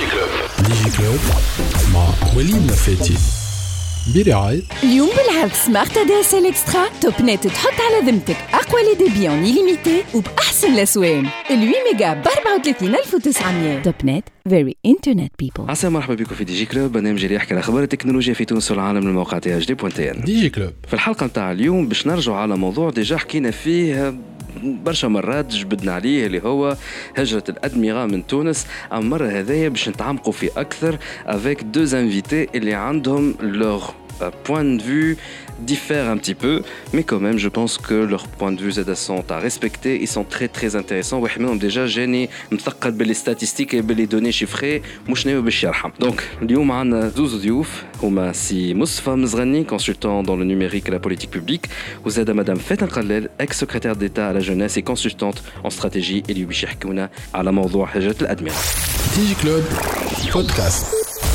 ديجي كلوب مع وليد لفاتي برعاية اليوم بالعرض سمارت دي اس ال اكسترا توب نت تحط على ذمتك اقوى لي ديبي اون ليميتي وباحسن الاسوان 8 ميجا ب 34900. توب نت فيري انترنت بيبل. عسى مرحبا بكم في ديجي كلوب، برنامج اللي يحكي على اخبار التكنولوجيا في تونس والعالم من الموقع تاع HDPoint. ديجي كلوب في الحلقه نتاع اليوم باش نرجع على موضوع ديجا حكينا فيه برشا مرات، جبدنا عليه اللي هو هجرة الأدمغة من تونس. أما مرة هذايا باش نتعمقوا فيه أكثر avec deux invités اللي عندهم leur point de vue diffère un petit peu, mais quand même je pense que leurs points de vue sont à respecter. Ils sont très très intéressants. واحد منهم déjà جاني مثقل باللي statistiques et باللي données chiffrées مش ناوي باش يرحم. Donc اليوم عندنا زوز ضيوف هما سي مصطفى مزغني consultant dans le numérique et la politique publique وزاد مدام فاتن قلال ex secrétaire d'État à la jeunesse et consultante en stratégie اللي باش يحكونا على موضوع هجرة الأدمغة. ديجي كلوب بودكاست.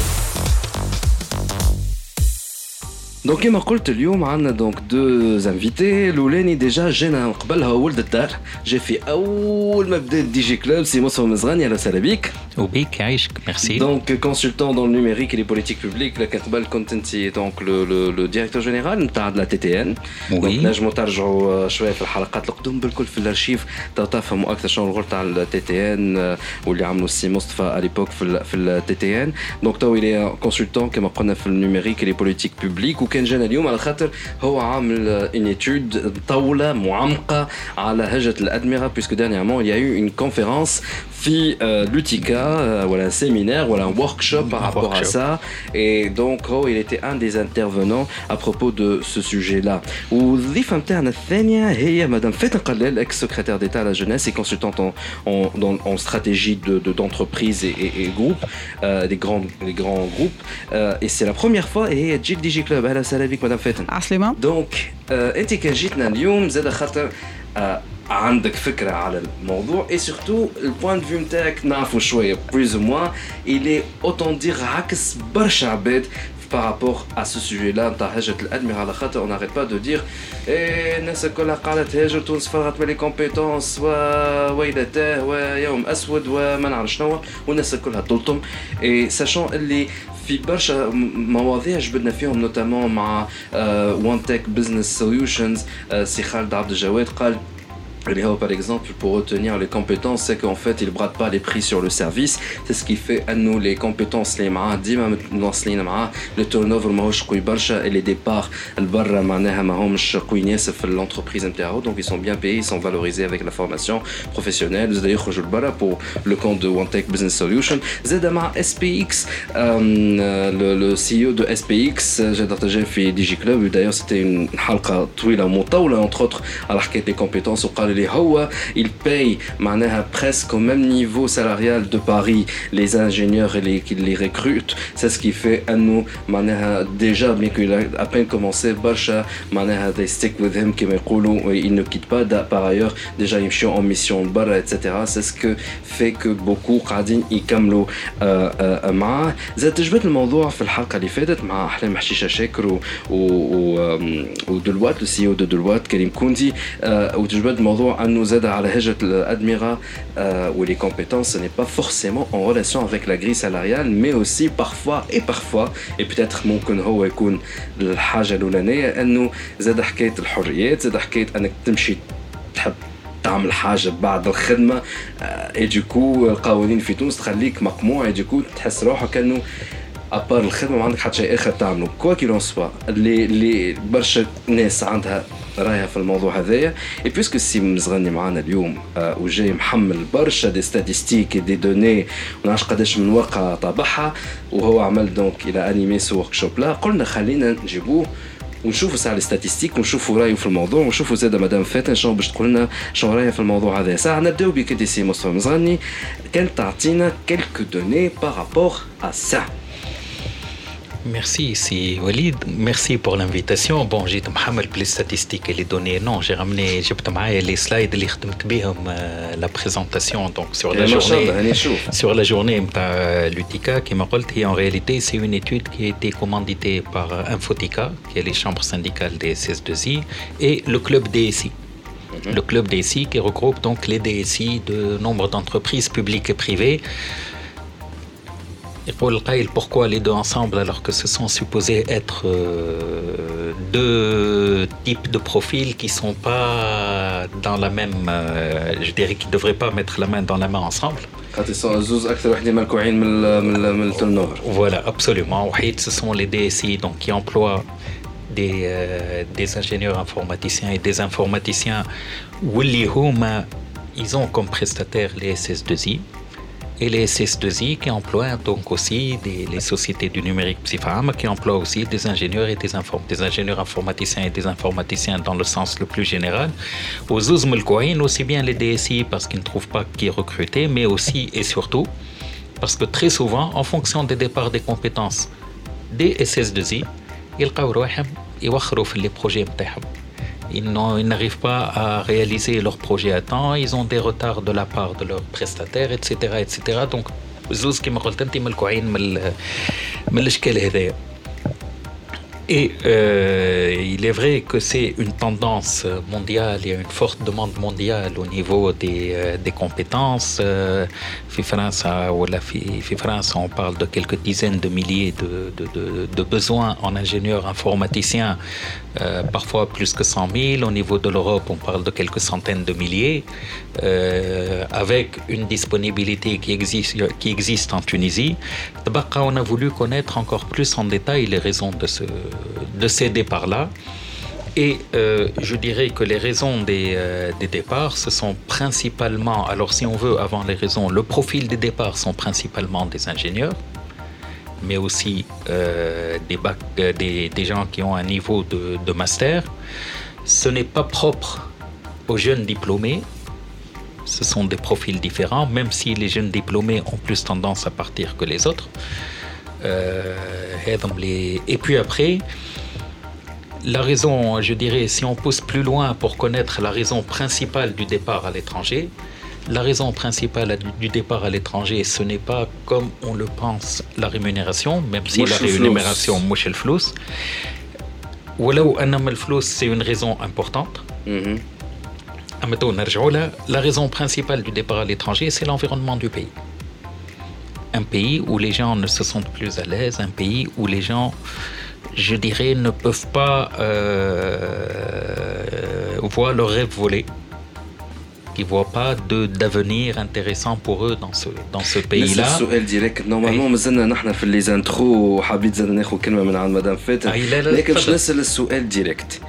دونك كما قلت اليوم عندنا دونك دو انفيتي. الاولاني ديجا جينا قبلها ولد الدار، جا في اول ما بدات ديجي كلوب سي مصطفى مزغني. اهلا وسهلا بك. وبيك عايشك ميرسي. دونك كونسلتون دون النيميريك لي بوليتيك بوبليك، لكن قبل كنت انت دونك لو ديريكتور جينيرال نتاع لا تي تي ان. دونك نجموا ترجعوا شويه في الحلقات القدم بالكل في الارشيف تفهموا اكثر شنو الغول تاع التي تي ان واللي عملوا السي مصطفى على ليبوك في التي تي ان. دونك تو الي كونسلتون كما قلنا في النيميريك لي بوليتيك بوبليك، وكان جانا اليوم على خاطر هو عامل ان ايتود طوله معمقه على هجرة الأدمغة، puisque dernièrement il y a eu une conférence في l'UTICA, voilà un séminaire, voilà un workshop par rapport à ça, et donc il était un des intervenants à propos de ce sujet-là. والضيفة نتاعنا الثانية هي مدام فاتن قلال ex secrétaire d'État à la jeunesse et consultante en stratégie d'entreprise et groupe, des grands groupes, et c'est la première fois et هي تجي ديجي كلوب. اهلا وسهلا بك مدام فاتن. عسلامة. دونك انت كان جيتنا اليوم زاد خاطر عندك فكرة على الموضوع et surtout le point de vue نتاعك نعرفوا شوية plus ou moins il est autant dire عكس برشا عباد par rapport à ce sujet-là نتاع هجرة الأدمغة. على خاطر on n'arrête pas de dire الناس كلها قاعدة تهاجر، تونس فرغت من لي كومبيتونس وويلته ويوم أسود وما نعرف شنو، والناس كلها تلطم. et sachant اللي في برشا مواضيع جبدنا فيهم نوتامون مع وان تك بزنس سوليوشنز. سي خالد عبد الجواد قال par exemple pour retenir les compétences, c'est qu'en fait ils bradent pas les prix sur le service. C'est ce qui fait à nous les compétences les معاه ديما مواصلين معاه. le turnover ماهوش قوي برشا et les départs البرا معناها ماهمش قويين ياسر في l'entreprise نتاعو. donc ils sont bien payés, ils sont valorisés avec la formation professionnelle. زاد يخرجوا لبرا pour le compte de OneTech Business Solution. زاد مع SPX le CEO de SPX j'ai partagé في ديجي كلوب. d'ailleurs c'était une حلقة طويلة مطولة entre autres على حكاية les compétences. وقال اللي هو il paye معناها presque au même niveau salarial de Paris les ingénieurs et les recrutent. c'est ce qui fait أنه معناها déjà bien qu'il a à peine commencé برشا معناها they stick with him كما يقولوا. il ne quitte pas par ailleurs déjà يمشيوا en mission برا etc. c'est ce que fait que beaucoup قاعدين يكملوا معاه. زاد تجبد الموضوع في الحلقة اللي فاتت مع أحلام حشيشة شاكر ودلوات le CEO de Deloitte كريم كوندي. وتجبد الموضوع أنه زاد على هجرة الأدمغة où les compétences ce n'est pas forcément en relation avec la grille salariale mais aussi parfois et peut-être ممكن هو يكون الحاجة الأولانية أنه زاد حكاية الحريات، زاد حكاية أنك تمشي تحب تعمل حاجة بعد الخدمة et du coup القوانين في تونس تخليك مقموع et du coup تحس روحك أنه أبار الخدمة ما عندك حتى شيء آخر تعمله. كوا كيلون سوا اللي برشا ناس عندها رايها في الموضوع هذايا. et puisque سي مزغني معانا اليوم وجاي محمل برشا دي ستاتيستيك دي دوني ونعرفش قداش من واقع طابعها وهو عمل دونك الى انيمي سو وركشوب لا، قلنا خلينا نجيبوه ونشوفوا ساعة الاستاتيستيك ونشوفوا رايه في الموضوع ونشوفوا زاده مدام فاتن شنو باش تقول لنا شنو رايه في الموضوع هذا. ساعة نبداو بك انت سي مصطفى مزغني، كان تعطينا quelques données par rapport à ça. Merci, c'est Walid. Merci pour l'invitation. Bon, j'ai محمل les statistiques et les données. Non, j'ai ramené, جبت معايا les slides اللي خدمت بهم la présentation donc sur la journée نتاع l'UTICA qui m'a قلت. En réalité, c'est une étude qui a été commanditée par Infotica, qui est les chambres syndicales des CS2I et le club DSI. Le club DSI qui regroupe donc les DSI de nombre d'entreprises publiques et privées يقول القائل pourquoi les deux ensemble alors que ce sont supposés être deux types de profils qui sont pas dans la même je dirais qu'ils devraient pas mettre la main dans la main ensemble. زوز اكثر وحده ملكوعين من التنور. Voilà, absolument. وحيد ce sont les DSI donc qui emploient des ingénieurs informaticiens et des informaticiens واللي هما ils ont comme prestataires les SS2I et les SS2I qui emploient donc aussi les sociétés du numérique psyphame qui emploient aussi des ingénieurs et des ingénieurs informaticiens et des informaticiens dans le sens le plus général. Aux Zouz Melkouaïn, aussi bien les DSI parce qu'ils ne trouvent pas qui recruter, mais aussi et surtout parce que très souvent, en fonction des départs des compétences des SS2I, يلقاو رواحهم يوخروا في les projets متاعهم. Ils n'arrivent pas à réaliser leur projet à temps, ils ont des retards de la part de leurs prestataires, etc. etc. Donc, زوز كما قلت أنت ملكوعين من الأشكال هذايا. Et il est vrai que c'est une tendance mondiale, il y a une forte demande mondiale au niveau des compétences. في France, on parle de quelques dizaines de milliers de besoins en ingénieurs informaticiens, parfois plus que 100 000. Au niveau de l'Europe, on parle de quelques centaines de milliers, avec une disponibilité qui existe en Tunisie. On a voulu connaître encore plus en détail les raisons de ces départs-là. Et je dirais que les raisons des départs, ce sont principalement, alors si on veut, avant les raisons, le profil des départs sont principalement des ingénieurs, mais aussi des gens qui ont un niveau de master. Ce n'est pas propre aux jeunes diplômés. Ce sont des profils différents, même si les jeunes diplômés ont plus tendance à partir que les autres. Et puis après, la raison, je dirais, si on pousse plus loin pour connaître la raison principale du départ à l'étranger, la raison principale du départ à l'étranger, ce n'est pas comme on le pense la rémunération, même si la rémunération mouche el flous. ولو أن الفلوس c'est une raison importante. La raison principale du départ à l'étranger, c'est l'environnement du pays. Un pays où les gens ne se sentent plus à l'aise, un pays où les gens, je dirais, ne peuvent pas voir leurs rêves voler, qui ne voient pas d'avenir intéressant pour eux dans ce pays-là. نفس السؤال ديريكت نورمالمون مازلنا نحن في لي زانترو وحبيت زاد ناخذ كلمه من عند مدام فاتن لكن باش نسال السؤال ديريكت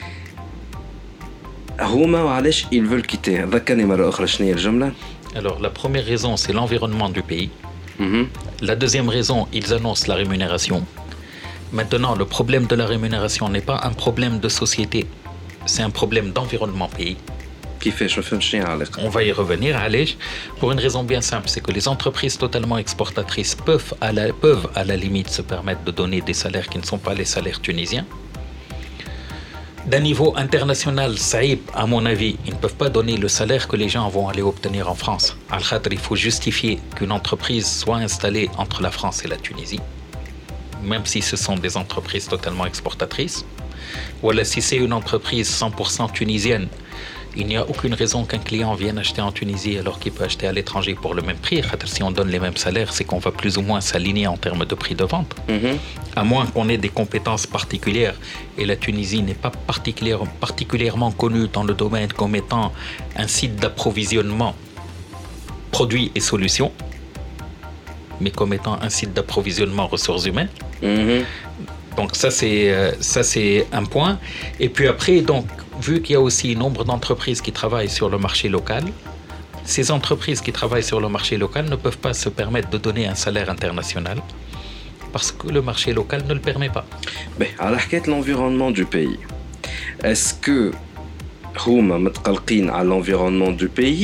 هما وعلاش ils veulent quitter ذكرني مره اخرى شنو هي الجمله. Alors la première raison c'est l'environnement du pays. La deuxième raison, ils annoncent la rémunération. Maintenant, le problème de la rémunération n'est pas un problème de société, c'est un problème d'environnement pays. On va y revenir, allez, pour une raison bien simple, c'est que les entreprises totalement exportatrices peuvent à la limite se permettre de donner des salaires qui ne sont pas les salaires tunisiens. D'un niveau international, Saïb, à mon avis, ils ne peuvent pas donner le salaire que les gens vont aller obtenir en France. Al-Khadr, il faut justifier qu'une entreprise soit installée entre la France et la Tunisie, même si ce sont des entreprises totalement exportatrices. Ou alors, si c'est une entreprise 100% tunisienne, il n'y a aucune raison qu'un client vienne acheter en Tunisie alors qu'il peut acheter à l'étranger pour le même prix. Si on donne les mêmes salaires, c'est qu'on va plus ou moins s'aligner en termes de prix de vente. À moins qu'on ait des compétences particulières. Et la Tunisie n'est pas particulièrement connue dans le domaine comme étant un site d'approvisionnement produits et solutions, mais comme étant un site d'approvisionnement ressources humaines. Donc ça c'est un point. Et puis après, donc, vu qu'il y a aussi nombre d'entreprises qui travaillent sur le marché local, ces entreprises qui travaillent sur le marché local ne peuvent pas se permettre de donner un salaire international parce que le marché local ne le permet pas. على حكاية l'environnement du pays, est-ce que هما متقلقين على l'environnement du pays؟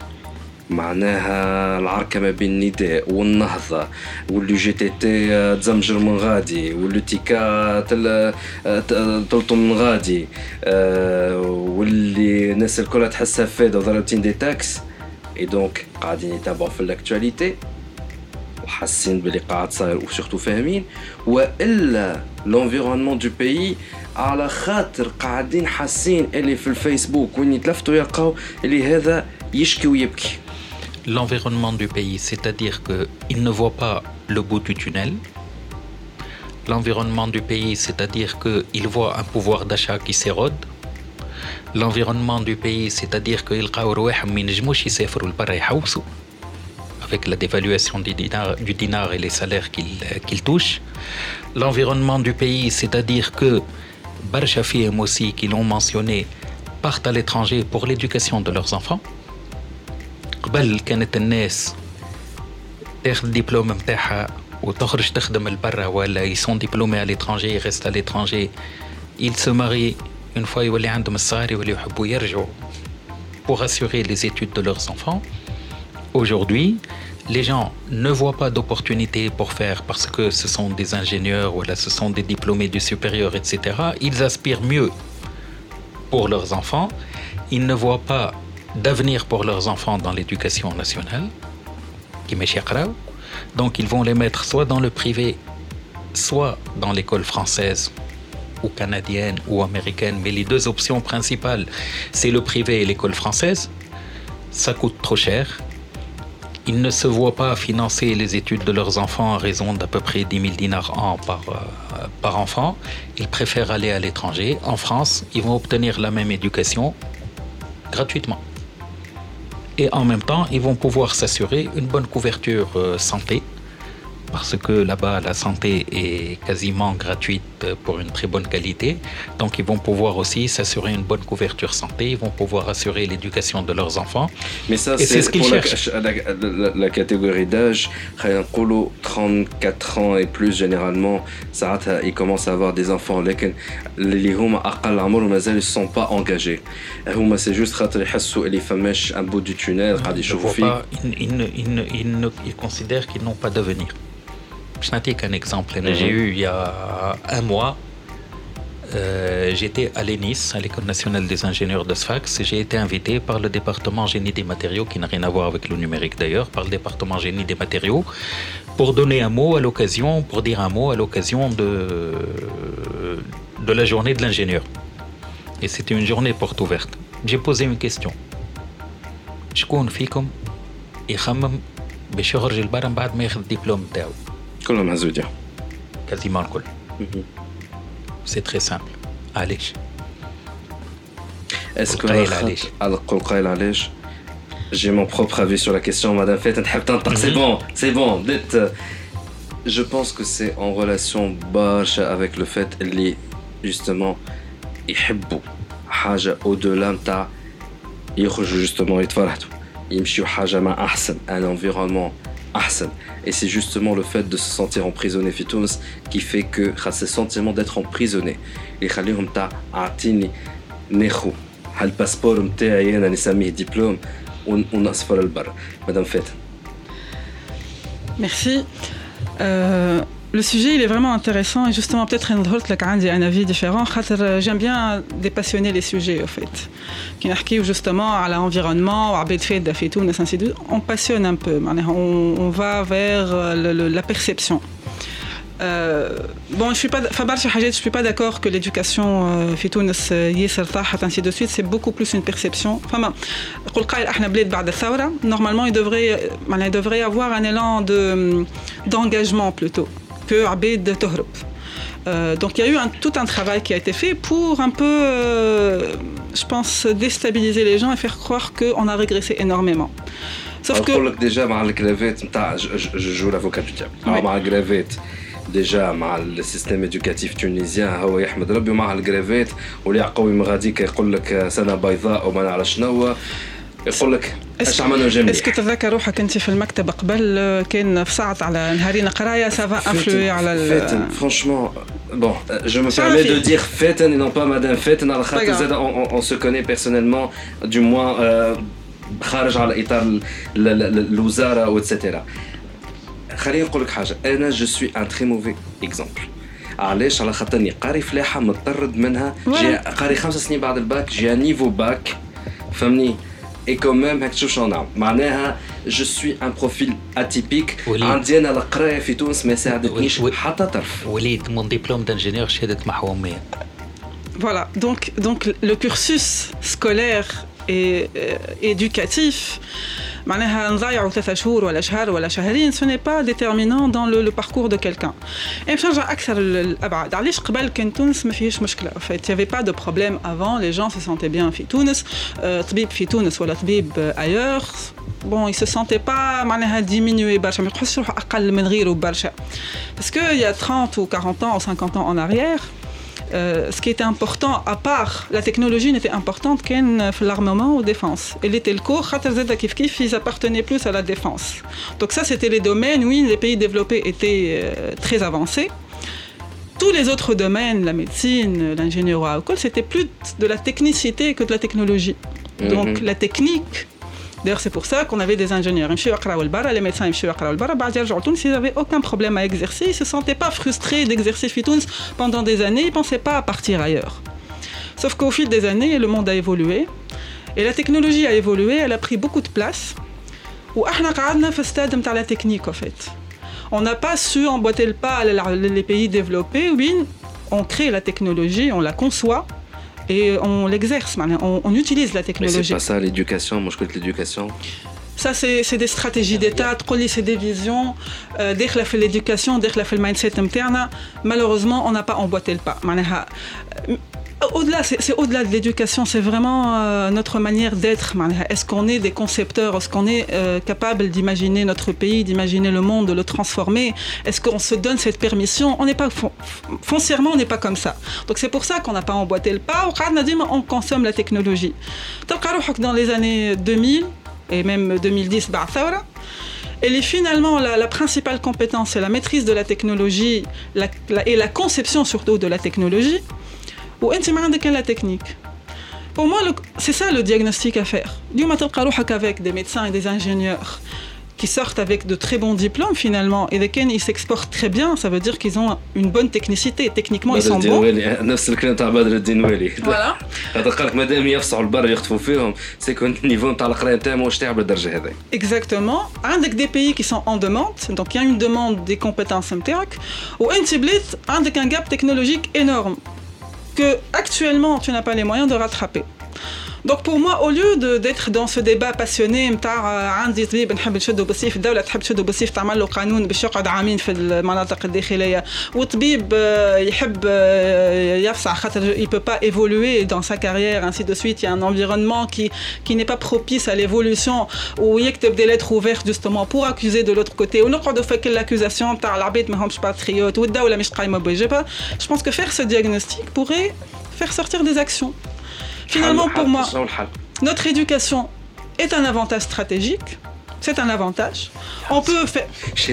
معناها العركة ما بين النداء والنهضة واللي جي تي تي تزمجر من غادي واللي تيكا تلطم من غادي واللي الناس الكل تحسها فايدة وضربتين دي تاكس اي دونك قاعدين يتابعوا في الاكتواليتي وحاسين باللي قاعد صاير وسورتو فاهمين، والا l'environnement du pays على خاطر قاعدين حاسين اللي في الفيسبوك وين يتلفتوا يلقاو اللي هذا يشكي ويبكي. l'environnement du pays, c'est-à-dire qu'il ne voit pas le bout du tunnel. L'environnement du pays, c'est-à-dire qu'il voit un pouvoir d'achat qui s'érode. L'environnement du pays, c'est-à-dire qu'il avec la dévaluation du dinar et les salaires qu'il touche. L'environnement du pays, c'est-à-dire que Barcha Fihim aussi, qui l'ont mentionné, partent à l'étranger pour l'éducation de leurs enfants. قبل كانت الناس تاخذ الدبلوم نتاعها وتخرج تخدم لبرا ولا ils sont diplômés à l'étranger, ils restent à l'étranger, ils se marient une fois يولي عندهم الصغار يولي يحبوا يرجعوا pour assurer les études de leurs enfants. Aujourd'hui, les gens ne voient pas d'opportunités pour faire parce que ce sont des ingénieurs ou là ce sont des diplômés du supérieur, etc. Ils aspirent mieux pour leurs enfants. Ils ne voient pas d'avenir pour leurs enfants dans l'éducation nationale. Donc ils vont les mettre soit dans le privé, soit dans l'école française ou canadienne ou américaine. Mais les deux options principales, c'est le privé et l'école française. Ça coûte trop cher. Ils ne se voient pas financer les études de leurs enfants à raison d'à peu près 10 000 dinars an par enfant. Ils préfèrent aller à l'étranger. En France, ils vont obtenir la même éducation gratuitement. Et en même temps, ils vont pouvoir s'assurer une bonne couverture santé. Parce que là-bas, la santé est quasiment gratuite pour une très bonne qualité. Donc, ils vont pouvoir aussi s'assurer une bonne couverture santé. Ils vont pouvoir assurer l'éducation de leurs enfants. Mais ça, c'est ce qu'ils cherchent. La catégorie d'âge, 34 ans et plus, généralement, ils commencent à avoir des enfants. Les ne sont pas engagés. C'est juste qu'ils font un bout du tunnel. Ils considèrent qu'ils n'ont pas d'avenir. Je n'ai qu'un exemple. J'ai eu il y a un mois, j'étais à l'ENIS, à l'École nationale des ingénieurs de Sfax. J'ai été invité par le département génie des matériaux, qui n'a rien à voir avec le numérique d'ailleurs, par le département génie des matériaux, pour donner un mot à l'occasion, pour dire un mot à l'occasion de la journée de l'ingénieur. Et c'était une journée porte ouverte. J'ai posé une question. شكون فيكم يخمم باش يخرج لبرا بعد ما ياخذ الدبلوم تاعو؟ كلهم هزوديا. Quasiment الكل. C'est très simple. علاش؟ Est-ce que القول قايل علاش؟ J'ai mon propre avis sur la question, Madame Fett. C'est bon. Dites. Je pense que c'est en relation barcha avec le fait اللي justement يحبوا حاجة au-delà نتاع يخرجوا justement يتفرحوا يمشيوا حاجة مع أحسن un environnement أحسن. Et c'est justement le fait de se sentir emprisonné في تونس qui fait que ce sentiment d'être emprisonné يخليهم تاع أعطيني ناخو هالباسبور متاعي أنا نسميه دبلوم ونسافر للبرا. Madame Fett. Merci. Le sujet il est vraiment intéressant et justement peut-être un avis différent. J'aime bien dépassionner les sujets au fait. Qui n'arrivent justement à l'environnement, on passionne un peu. On va vers la perception. Bon, je suis pas d'accord que l'éducation ainsi de suite, c'est beaucoup plus une perception. Normalement, il devrait y avoir un élan d'engagement plutôt que Abed Tohrub. Donc il y a eu tout un travail qui a été fait pour un peu, je pense, déstabiliser les gens et faire croire qu'on a régressé énormément. Sauf que... déjà, je joue l'avocat du diable. Déjà مع السيستم éducatif tunisien هو يحمد ربي مع الجرافات واللي يعقوي مغاديك يقول لك سنه بيضاء وما نعرف شنو يقول لك اش عملنا جميع. اسكو تتذكر روحك انت في المكتب قبل كان في ساعه على نهارين قرايه سافا انفلوي على franchement bon je me permets de dire Fetten et non pas Madame Fetten على خاطر on se connaît personnellement du moins خارج على اطار الوزاره واتسيتيرا. خليني نقول لك حاجه انا جو سوي ان تري موفي اكزامبل. علاش؟ على خاطرني قاري فلاحه متطرد منها جي قاري 5 سنين بعد الباك جي نيفو باك فهمني اي كوميم هاك تشوف شنو نعمل معناها جو سوي ان بروفيل اتيبيك. عندي انا القرايه في تونس ما ساعدتنيش حتى طرف. وليد مون ديبلوم دانجينيور شهاده محوميه. Voilà, donc le cursus scolaire et éducatif معناها نضيعوا 3 شهور ولا شهر ولا شهرين ce n'est pas déterminant dans le parcours de quelqu'un. Et باش نرجع أكثر الأبعاد علاش قبل كان تونس ما فيهش مشكلة. En fait, il y avait pas de problème avant, les gens se sentaient bien في تونس. طبيب في تونس ولا طبيب ailleurs. Bon, il se sentait pas معناها diminué برشا ما يحسش روحه أقل من غيره برشا. Parce que il y a 30 ou 40 ans ou 50 ans en arrière, ce qui était important, à part la technologie n'était importante qu'en l'armement ou défense. Et les telcos, ils appartenaient plus à la défense. Donc ça, c'était les domaines où les pays développés étaient très avancés. Tous les autres domaines, la médecine, l'ingénierie, c'était plus de la technicité que de la technologie. Donc la technique. D'ailleurs, c'est pour ça qu'on avait des ingénieurs. Les médecins, ils n'avaient aucun problème à exercer. Ils ne se sentaient pas frustrés d'exercer pendant des années. Ils ne pensaient pas à partir ailleurs. Sauf qu'au fil des années, le monde a évolué. Et la technologie a évolué. Elle a pris beaucoup de place. Où on a fait stade de la technique, en fait. On n'a pas su emboîter le pas les pays développés. Oui, on crée la technologie, on la conçoit. Et on l'exerce, on utilise la technologie. Mais c'est pas ça l'éducation, moi je connais l'éducation. Ça c'est des stratégies d'État, c'est des visions. Dès que l'éducation, dès que le mindset interne, malheureusement on n'a pas emboîté le pas. Au-delà, c'est au-delà de l'éducation, c'est vraiment notre manière d'être. Est-ce qu'on est des concepteurs? Est-ce qu'on est capable d'imaginer notre pays, d'imaginer le monde, de le transformer? Est-ce qu'on se donne cette permission? On n'est pas foncièrement, on n'est pas comme ça. Donc c'est pour ça qu'on n'a pas emboîté le pas. On consomme la technologie. Dans les années 2000 et même 2010, et finalement, la principale compétence, c'est la maîtrise de la technologie et la conception surtout de la technologie. Ou la technique. Pour moi, c'est ça le diagnostic à faire. Avec des médecins et des ingénieurs qui sortent avec de très bons diplômes finalement et lesquels ils s'exportent très bien, ça veut dire qu'ils ont une bonne technicité. Techniquement, ils sont bons. Voilà. Exactement. Avec des pays qui sont en demande, donc il y a une demande des compétences ou un gap technologique énorme que actuellement tu n'as pas les moyens de rattraper. Donc pour moi, au lieu d'être dans ce débat passionné, عندي طبيب نحب نشدو بالسيف الدولة تحب تشدو بالسيف تعمل له قانون باش يقعد عامين في المناطق الداخلية وطبيب يحب يفصح خاطر il peut pas évoluer dans sa carrière ainsi de suite, il y a un environnement qui n'est pas propice à l'évolution où يكتب des lettres ouvertes justement pour accuser de l'autre côté ونقعدوا في l'accusation تاع العباد ما همش patriotes والدولة مش قايمة بواجبها. Je pense que faire ce diagnostic pourrait faire sortir des actions. Finalement, pour moi, notre éducation est un avantage stratégique. C'est un avantage. On peut faire.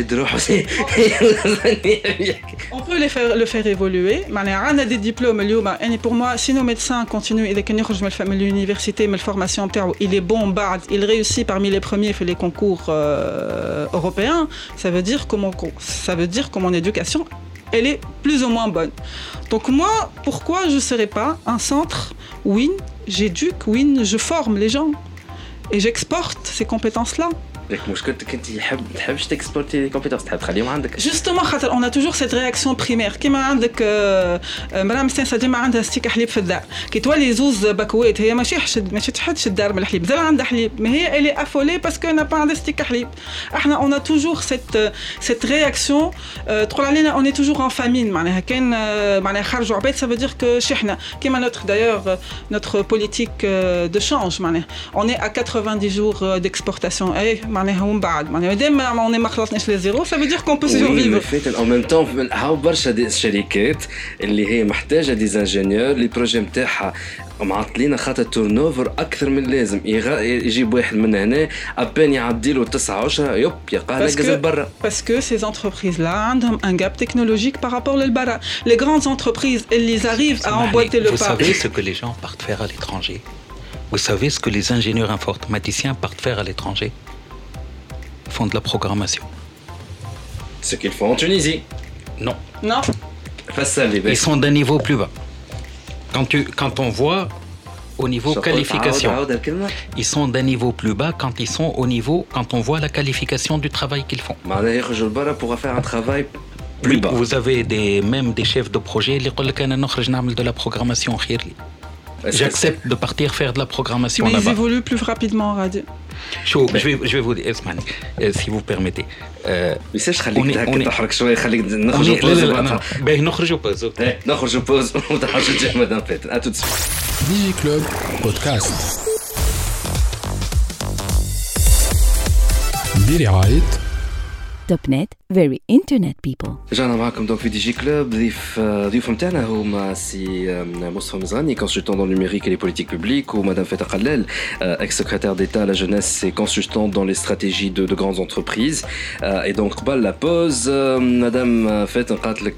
On peut le faire évoluer. On a des diplômes. Et pour moi, si nos médecins continuent et que l'université, mais la formation, il est bon, il réussit parmi les premiers fait les concours européens. Ça veut dire que mon éducation, elle est plus ou moins bonne. Donc moi, pourquoi je ne serais pas un centre WIN, j'éduque, WIN, je forme les gens et j'exporte ces compétences-là. Justement, on a toujours cette réaction primaire. كيما عندك مرام مستانسة ديما عندها ستيك حليب في الدار. كي تولي زوز بكوات هي ماشي تحدش الدار من الحليب، زال عندها حليب، mais هي elle est affolée parce que n'a pas عندها ستيك حليب. احنا on a toujours cette réaction. تقول علينا on est toujours en famine. معناها كان معناها خرجوا عباد ça veut dire que شحنا كيما notre politique de change معناها on est à 90 jours d'exportation. معناها ومن بعد معناها دائما ما خلصناش لي زيرو ça veut dire qu'on peut survivre. En même temps هاو برشا دي الشركات اللي هي محتاجه دي انجينيور لي بروجي نتاعها معطلين خاطر تورن اوفر اكثر من اللازم يجيب واحد من هنا ابان يعدي له 9 10 يب يلقاه ناقز برا. Parce que ces entreprises là عندهم un gap technologique par rapport للبرا. Les grandes entreprises elles arrivent à emboîter le pas. Vous savez ce que les gens partent faire à l'étranger? Vous savez ce que les ingénieurs informaticiens partent faire à l'étranger? Font de la programmation. Ce qu'ils font en Tunisie. Non. Non. Ils sont d'un niveau plus bas. Quand on voit au niveau qualification, ils sont d'un niveau plus bas quand on voit la qualification du travail qu'ils font. Pour faire un travail plus bas. Vous avez même des chefs de projet qui disent de la programmation. J'accepte de partir faire de la programmation mais là-bas. Mais ils évoluent plus rapidement, Radio. Je vais vous dire, si vous permettez. ميساش خليك هكا تحرك شويه خليك نخرجوا بوز باهي نخرجوا بوز نخرجوا بوز وتحرجوا تجي مدام فاتن اتو ديجي كلوب بودكاست برعاية توب نت very internet people. رجعنا معكم دونك في دي جي كلوب. ضيوف نتاعنا هما سي مصطفى مزغاني consultant dans le numérique et les politiques publiques ou madame Feta Khalel ex-secrétaire d'État à la jeunesse et consultante dans les stratégies de grandes entreprises. Et donc قبل la pause madame Feta قالت لك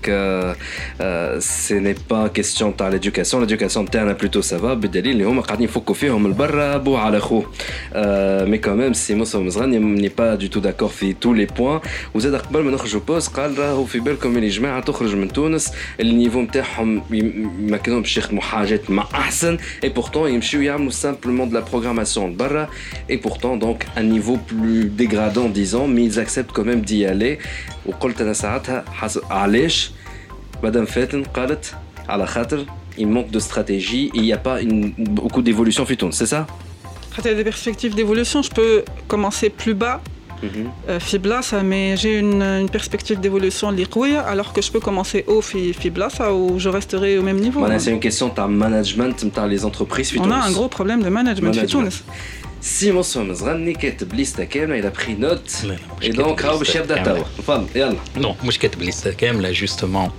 ce n'est pas question تاع l'éducation تاعنا plutôt ça va بالدليل اللي هما قاعدين يفكوا فيهم البرا بو على خو. Mais quand même سي مصطفى مزغاني n'est pas du tout d'accord في tous les points. وزاد قبل ما نخرجوا بوز قال راهو في بالكم اللي جماعه تخرج من تونس النيفو نتاعهم ما كانوش يخدموا حاجات مع احسن اي بورتون يمشيو يعملوا سامبلومون دو لا بروغراماسيون برا اي بورتون دونك ان نيفو بلو ديغرادون ديزون مي ils acceptent quand même d'y aller. وقلت انا ساعتها علاش مدام فاتن قالت على خاطر il manque de stratégie et il y a pas beaucoup d'évolution في تونس c'est ça. Quand il y a des perspectives d'évolution, je peux commencer plus bas. Fiblasa, mais j'ai une perspective d'évolution liquide, alors que je peux commencer haut Fiblasa où je resterai au même niveau. C'est une question de management dans les entreprises. On a un gros problème de management. Si Moussa Mzrani كاتب ليسته كامله il a pris note et donc راهو باش يبدا توا تفضل يلا. Non, مش كاتب ليسته كامله justement.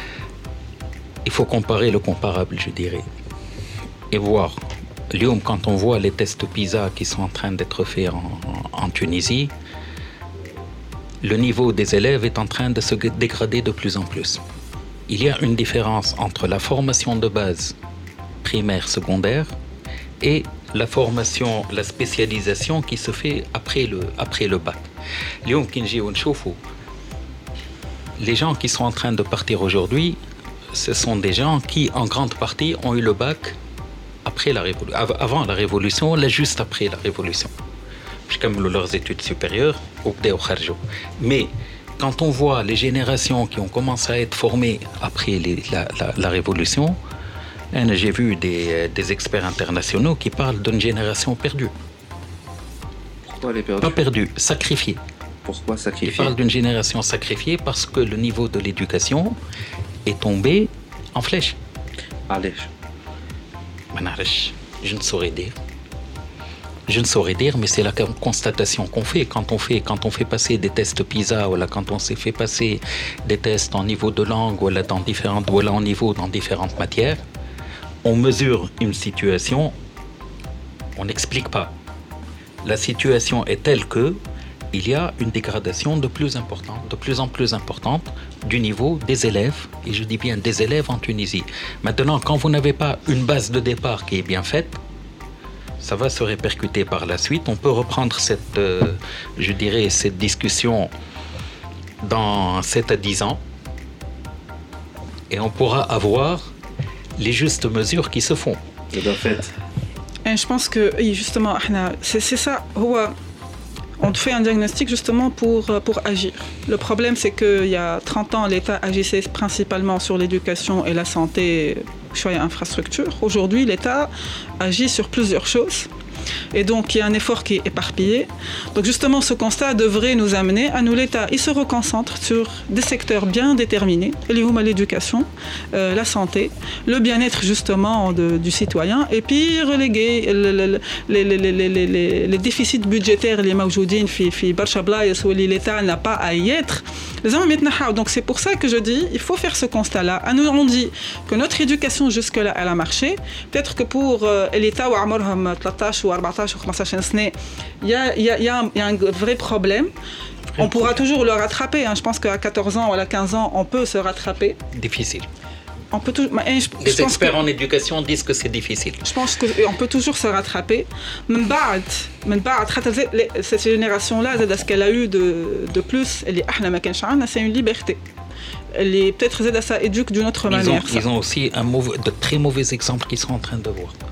Il faut comparer le comparable, je dirais, et voir. Lyon, quand on voit les tests PISA qui sont en train d'être faits en Tunisie, le niveau des élèves est en train de se dégrader de plus en plus. Il y a une différence entre la formation de base primaire, secondaire et la formation, la spécialisation qui se fait après le bac. Lyon, Kinji, Onchoufou, les gens qui sont en train de partir aujourd'hui, ce sont des gens qui, en grande partie, ont eu le bac après avant la révolution, là juste après la révolution. Je termine leurs études supérieures ou mais quand on voit les générations qui ont commencé à être formées après la révolution, j'ai vu des experts internationaux qui parlent d'une génération perdue. Pourquoi elle est perdue? Pas perdue, sacrifiée. Pourquoi sacrifiée? Ils parlent d'une génération sacrifiée parce que le niveau de l'éducation est tombé en flèche. Allez. Je ne saurais dire, mais c'est la constatation qu'on fait quand on fait passer des tests PISA ou là, quand on s'est fait passer des tests en niveau de langue ou là, en niveau dans différentes matières. On mesure une situation, on n'explique pas. La situation est telle que il y a une dégradation de plus en plus importante du niveau des élèves, et je dis bien des élèves en Tunisie. Maintenant, quand vous n'avez pas une base de départ qui est bien faite, ça va se répercuter par la suite. On peut reprendre cette discussion dans 7 à 10 ans, et on pourra avoir les justes mesures qui se font. C'est bien fait. Et je pense que, justement, c'est ça. On fait un diagnostic justement pour agir. Le problème, c'est qu'il y a 30 ans, l'État agissait principalement sur l'éducation et la santé, choix et infrastructure. Aujourd'hui, l'État agit sur plusieurs choses. Et donc, il y a un effort qui est éparpillé. Donc, justement, ce constat devrait nous amener à nous, l'État, il se reconcentre sur des secteurs bien déterminés, l'éducation, la santé, le bien-être, justement, du citoyen, et puis reléguer les déficits budgétaires, les mawjoudines, où l'État n'a pas à y être. Donc, c'est pour ça que je dis, il faut faire ce constat-là. À nous, on dit que notre éducation, jusque-là, elle a marché. Peut-être que pour l'État, ou 13 ou 14 ou 15 سنة, il y a un vrai problème. On pourra toujours le rattraper. Je pense qu'à 14 ans ou à 15 ans, on peut se rattraper. Difficile. On peut les experts en éducation disent que c'est difficile. Je pense qu'on peut toujours se rattraper. Cette génération-là, ce qu'elle a eu de plus, c'est une liberté. Peut-être ça éduque d'une autre manière. Ils ont aussi de très mauvais exemples qu'ils sont en train de voir.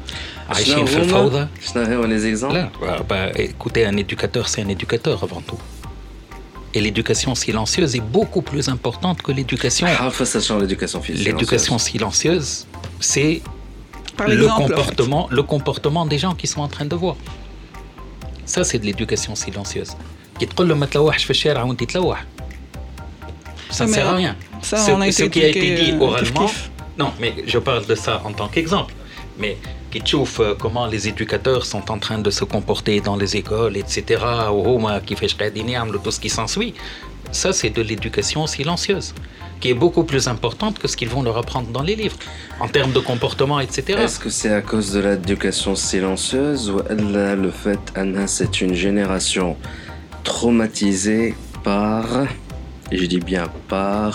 Les exemples. Écoutez, un éducateur, c'est un éducateur avant tout. Et l'éducation silencieuse est beaucoup plus importante que l'éducation. L'éducation silencieuse, c'est le comportement des gens qui sont en train de voir. Ça, c'est de l'éducation silencieuse. Qui te dit, ما تلوحش في الشارع وانت تلوح. Ça ne sert à rien. Ça, Ce qui a été dit oralement. Non, mais je parle de ça en tant qu'exemple. Mais qui chauffe comment les éducateurs sont en train de se comporter dans les écoles, etc. Qui fait tout ce qui s'ensuit. Ça, c'est de l'éducation silencieuse, qui est beaucoup plus importante que ce qu'ils vont leur apprendre dans les livres, en termes de comportement, etc. Est-ce que c'est à cause de l'éducation silencieuse ou le fait que c'est une génération traumatisée par, et je dis bien par,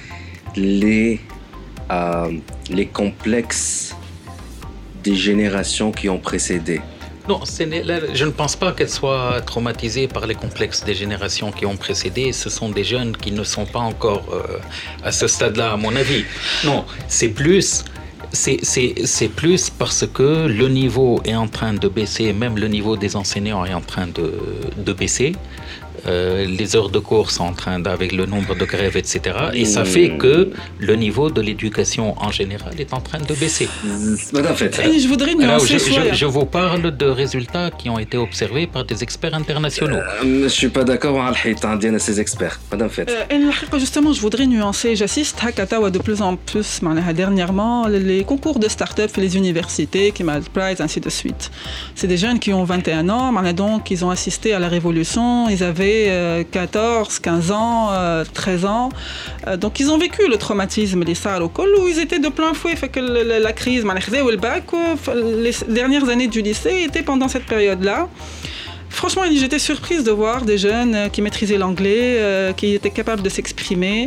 les complexes des générations qui ont précédé? Non, je ne pense pas qu'elle soit traumatisée par les complexes des générations qui ont précédé. Ce sont des jeunes qui ne sont pas encore à ce stade-là, à mon avis. Non, c'est plus parce que le niveau est en train de baisser, même le niveau des enseignants est en train de baisser. Les heures de cours sont en train avec le nombre de grèves, etc. Et ça fait que le niveau de l'éducation en général est en train de baisser. Je voudrais nuancer. Je vous parle de résultats qui ont été observés par des experts internationaux. Je ne suis pas d'accord avec ces experts. Madame Fett. Justement, je voudrais nuancer. J'assiste à Katawa de plus en plus dernièrement les concours de start-up et les universités, qui m'a Prize, ainsi de suite. C'est des jeunes qui ont 21 ans, donc ils ont assisté à la révolution. Ils avaient 14, 15 ans, 13 ans. Donc ils ont vécu le traumatisme, les SAR au col, où ils étaient de plein fouet. Fait que la crise, le bac, les dernières années du lycée étaient pendant cette période-là. Franchement, j'étais surprise de voir des jeunes qui maîtrisaient l'anglais, qui étaient capables de s'exprimer.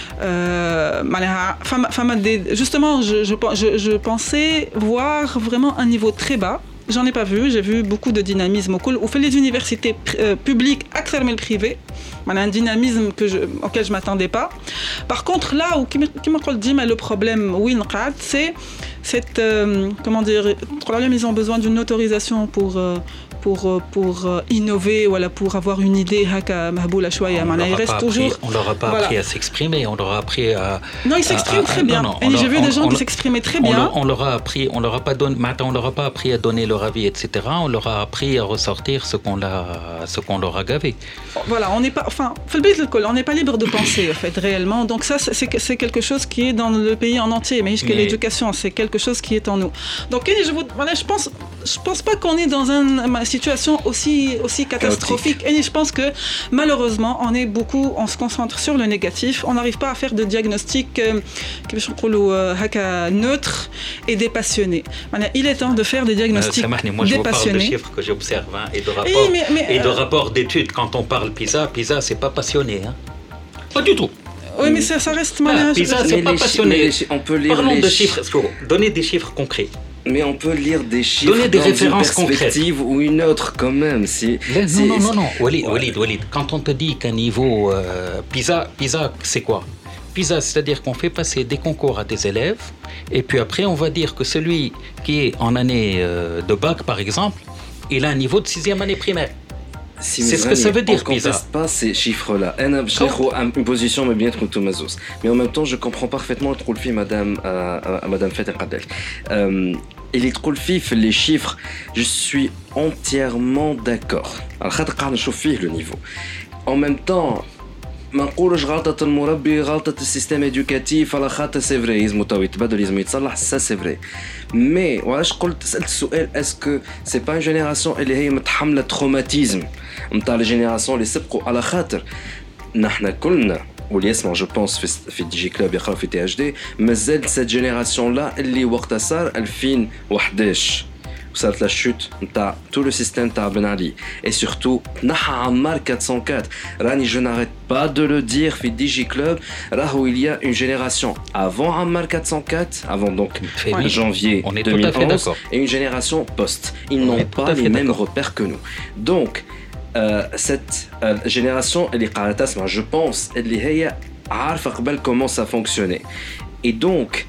Justement, je pensais voir vraiment un niveau très bas. J'en ai pas vu, j'ai vu beaucoup de dynamisme au cool. Ou fait les universités publiques, accès le privé, un dynamisme auquel je m'attendais pas. Par contre, là où qui m'a dit, mais le problème, oui, c'est cette, comment dire, problème, ils ont besoin d'une autorisation pour innover, voilà, pour avoir une idée. Il reste toujours. On leur a pas appris à s'exprimer, on leur a appris à. Non, ils s'expriment très bien. Et j'ai vu des gens qui s'exprimaient très bien. On leur a appris, on leur a pas appris à donner leur avis, etc. On leur a appris à ressortir ce qu'on leur a gavé. Voilà, on n'est pas, enfin, on n'est pas libre de penser, en fait, réellement. Donc ça, c'est quelque chose qui est dans le pays en entier. Mais l'éducation, c'est quelque chose qui est en nous. Donc, je pense pas qu'on est dans une situation aussi catastrophique. Et je pense que malheureusement, on se concentre sur le négatif. On n'arrive pas à faire de diagnostic neutre et dépassionné. Il est temps de faire des diagnostics dépassionnés. Moi, je vous parle de chiffres que j'observe et de rapports d'études. Quand on parle PISA, c'est pas passionné. Hein. Pas du tout. Oui, mais ça reste PISA, c'est pas passionné. On peut lire Parlons de chiffres. Donner des chiffres concrets. Mais on peut lire des chiffres. Donner des références une perspective concrètes. Ou une autre quand même. Non. Walid. Quand on te dit qu'un niveau PISA, c'est quoi? PISA, c'est-à-dire qu'on fait passer des concours à des élèves, et puis après on va dire que celui qui est en année de bac, par exemple, il a un niveau de 6e année primaire. C'est ce que ça veut dire, PISA. On ne conteste pas ces chiffres-là. Une position, mais bien trop Mazous. Mais en même temps, je comprends parfaitement le trou Madame Fett Qadel. Et les trou les chiffres, je suis entièrement d'accord. Le niveau. En même temps, ما نقولش غلطة المربي غلطة السيستم إدوكاتيف على خاطر سي فري يلزمو تو يتبدل يلزم يتصلح سا سي فري مي وعلاش قلت سألت السؤال اسكو سي با جينيراسيون اللي هي متحملة تروماتيزم نتاع لي جينيراسيون اللي سبقوا على خاطر نحنا كلنا واللي يسمع جو بونس في دي جي كلوب يقراو في تي اش دي مازال سيت جينيراسيون لا اللي وقتها صار 2011 وصارت لا شوت نتاع تو لو سيستيم تاع بن علي et surtout نحى عمار 404 راني je n'arrête pas de le dire في دي جي كلوب راهو il y a une génération avant عمار 404 avant donc janvier 2011 et une génération post ils n'ont pas les mêmes repères que nous donc cette génération اللي قاعدة تسمع je pense اللي هي عارفة قبل comment ça fonctionnait et donc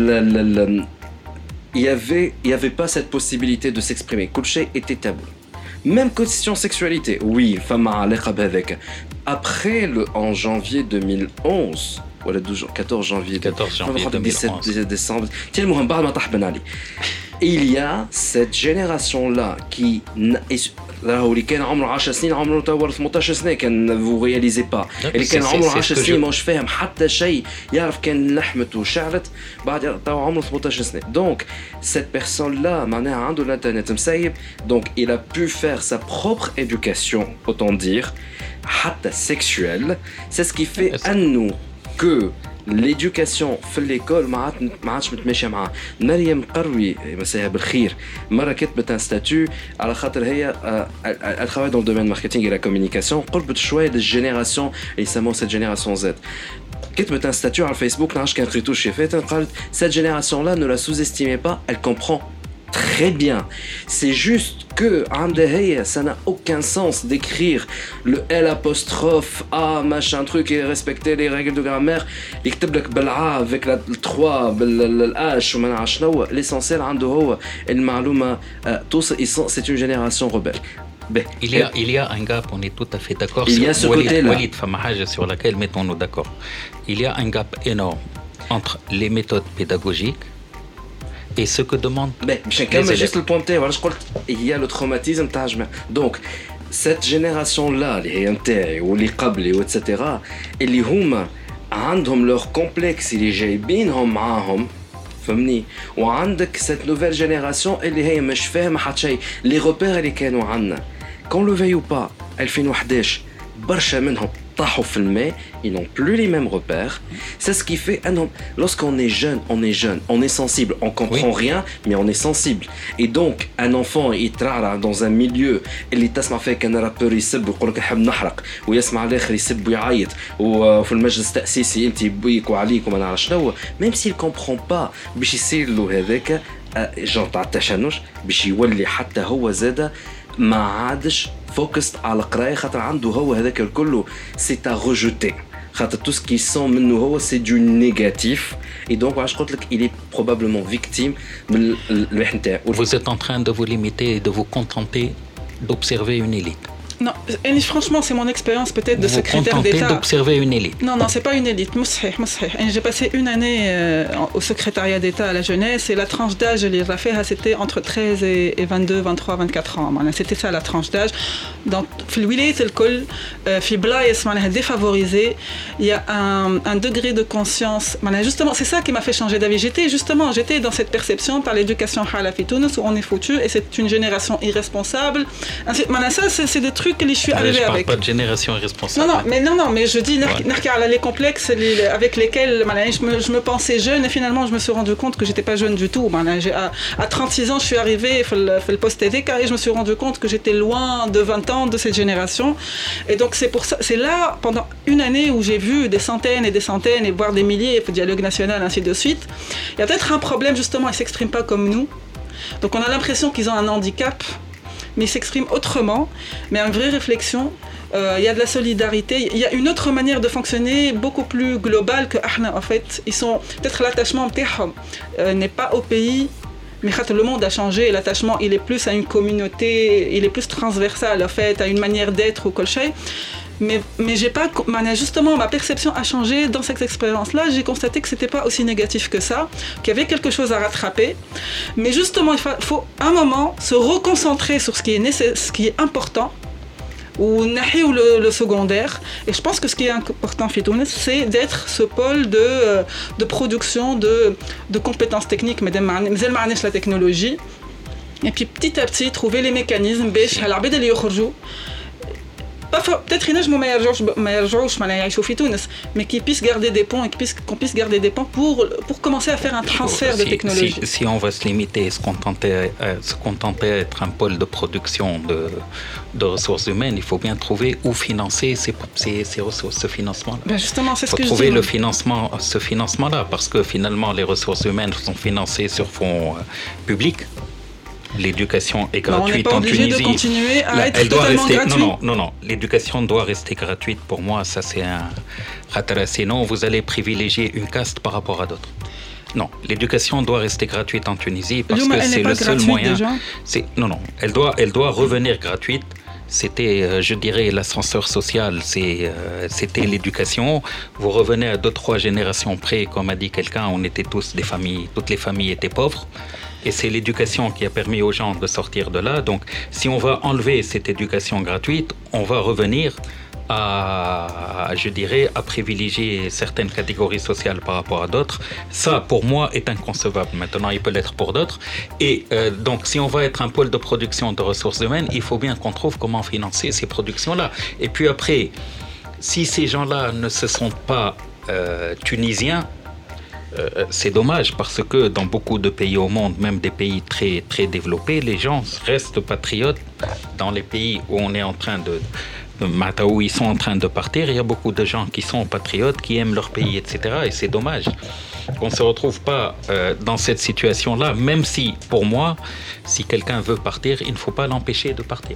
il y avait pas cette possibilité de s'exprimer. Kulche était tabou. Même question sexualité. Oui, femme à l'école avec. Après en janvier 2011, voilà 14 janvier 2011. 17 décembre. Tiens, Mohamed Ben Ali. il y a cette génération-là qui راهو اللي كان عمره 10 سنين عمره تو 18 سنه كان vous réalisez pas اللي كان عمره 10 سنين مش فاهم حتى شيء يعرف كان لحمت وشعلت بعد تو عمره 18 سنه donc cette personne là معناها عنده الانترنت مسيب donc il a pu faire sa propre éducation autant dire حتى sexuelle c'est ce qui fait انه que l'éducation في l'école ما عادش متماشيه معاه. مريم قروي مساها بالخير مره كتبت ان ستاتيو على خاطر هي elle travaille dans le domaine marketing et la communication قربت شويه للجينيراسيون يسموها cette génération Z. كتبت un statut على الفيسبوك نعرفش كان قريتو شي فات قالت cette génération là ne la sous-estimez pas, elle comprend très bien. C'est juste que ça n'a aucun sens d'écrire le L apostrophe A machin truc et respecter les règles de grammaire. يكتب لك بالA avec la 3 بالH وما نعرفش شنو. L'essentiel عنده هو المعلومة tous c'est une génération rebelle. Il y a un gap, on est tout à fait d'accord. Il y a ce côté-là. Walid Famahaj sur laquelle mettons-nous d'accord. Il y a un gap énorme entre les méthodes pédagogiques et ce que demandent chacun mais juste le pointer voilà je crois il y a le traumatisme donc cette génération là les نتاعي واللي قبلي etc اللي هما عندهم leur complexe اللي جايبينهم معاهم فهمني وعندك cette nouvelle génération اللي هي مش فاهمه حتى شيء les repères اللي كانوا عندنا qu'on le veuille ou pas 2011 برشا منهم طاحوا في الماء ils n'ont plus les mêmes repères. C'est ce qui fait lorsqu'on est jeune, on est sensible, on comprend rien, mais on est sensible. Et donc un enfant il trara dans un milieu اللي تسمع فيه كان رابور يسب ويقول لك نحب نحرق ويسمع الاخر يسب ويعيط وفي المجلس التأسيسي انت بيك وعليك وما نعرف شنو même s'il comprend pas باش يصير له هذاك جون تاع التشنج باش يولي حتى هو زاده ما عادش فوكست على القرايه خاطر عنده هو هذاك الكل سي تا ريجوتي خاطر tout ce qui sent منه هو c'est du négatif et donc je crois qu'il est probablement victime من الوحده نتاعو. Vous êtes en train de vous limiter et de vous contenter d'observer une élite. Non, et franchement, c'est mon expérience peut-être de secrétaire d'État. Vous vous contentez d'observer une élite. Non, c'est pas une élite. Moussih. J'ai passé une année au secrétariat d'État à la jeunesse et la tranche d'âge, c'était entre 13 et 22, 23, 24 ans. C'était ça la tranche d'âge. Donc, في الولايات الكل في بلايص معناها défavorisé, il y a un degré de conscience. Justement, c'est ça qui m'a fait changer d'avis. J'étais dans cette perception par l'éducation hala fi Tunis où on est foutu et c'est une génération irresponsable. Ça, c'est des trucs que je suis arrivé avec. Je parle pas de génération irresponsable. Non, mais je dis les complexes avec lesquels je me pensais jeune et finalement je me suis rendu compte que j'étais pas jeune du tout. À 36 ans, je suis arrivé fait le poste TDK et je me suis rendu compte que j'étais loin de 20 ans de cette génération. Et donc c'est pour ça, c'est là pendant une année où j'ai vu des centaines et voire des milliers de dialogue national ainsi de suite. Il y a peut-être un problème justement, ils s'expriment pas comme nous. Donc on a l'impression qu'ils ont un handicap. Mais ils s'expriment autrement, mais une vraie réflexion. Il y a de la solidarité, il y a une autre manière de fonctionner beaucoup plus globale que Ahna en fait. Ils sont peut-être l'attachement n'est pas au pays, mais le monde a changé et l'attachement il est plus à une communauté, il est plus transversal en fait, à une manière d'être ou quelque chose. Mais j'ai pas, justement, ma perception a changé dans cette expérience-là. J'ai constaté que c'était pas aussi négatif que ça, qu'il y avait quelque chose à rattraper. Mais justement, il faut un moment se reconcentrer sur ce qui est important ou le secondaire. Et je pense que ce qui est important, Fitounes, c'est d'être ce pôle de production de compétences techniques, mais la technologie. Et puis petit à petit, trouver les mécanismes, peut-être ما يرجعوش يعيشوا في تونس mais qu'ils puissent garder des ponts et qu'on puisse garder des ponts pour commencer à faire un transfert de technologie. Si on va se limiter et se contenter d'être un pôle de production de ressources humaines, il faut bien trouver où financer ces ressources, ce financement-là. Justement, c'est ce que je dis. Il faut trouver ce financement-là parce que finalement les ressources humaines sont financées sur fonds publics. L'éducation est gratuite en Tunisie. On n'est pas obligé de continuer à être totalement gratuite. Non. L'éducation doit rester gratuite. Pour moi, ça c'est un khatara. Sinon, vous allez privilégier une caste par rapport à d'autres. Non, l'éducation doit rester gratuite en Tunisie parce que c'est le seul moyen. Non. Elle doit revenir gratuite. C'était, je dirais, l'ascenseur social, c'était l'éducation. Vous revenez à 2-3 générations près, comme a dit quelqu'un, on était tous des familles, toutes les familles étaient pauvres. Et c'est l'éducation qui a permis aux gens de sortir de là. Donc, si on va enlever cette éducation gratuite, on va revenir à privilégier certaines catégories sociales par rapport à d'autres. Ça, pour moi, est inconcevable. Maintenant, il peut l'être pour d'autres. Et donc, si on va être un pôle de production de ressources humaines, il faut bien qu'on trouve comment financer ces productions-là. Et puis après, si ces gens-là ne se sentent pas tunisiens, c'est dommage parce que dans beaucoup de pays au monde, même des pays très, très développés, les gens restent patriotes. Dans les pays où on est en train où ils sont en train de partir, il y a beaucoup de gens qui sont patriotes, qui aiment leur pays, etc. Et c'est dommage qu'on ne se retrouve pas dans cette situation-là, même si, pour moi, si quelqu'un veut partir, il ne faut pas l'empêcher de partir.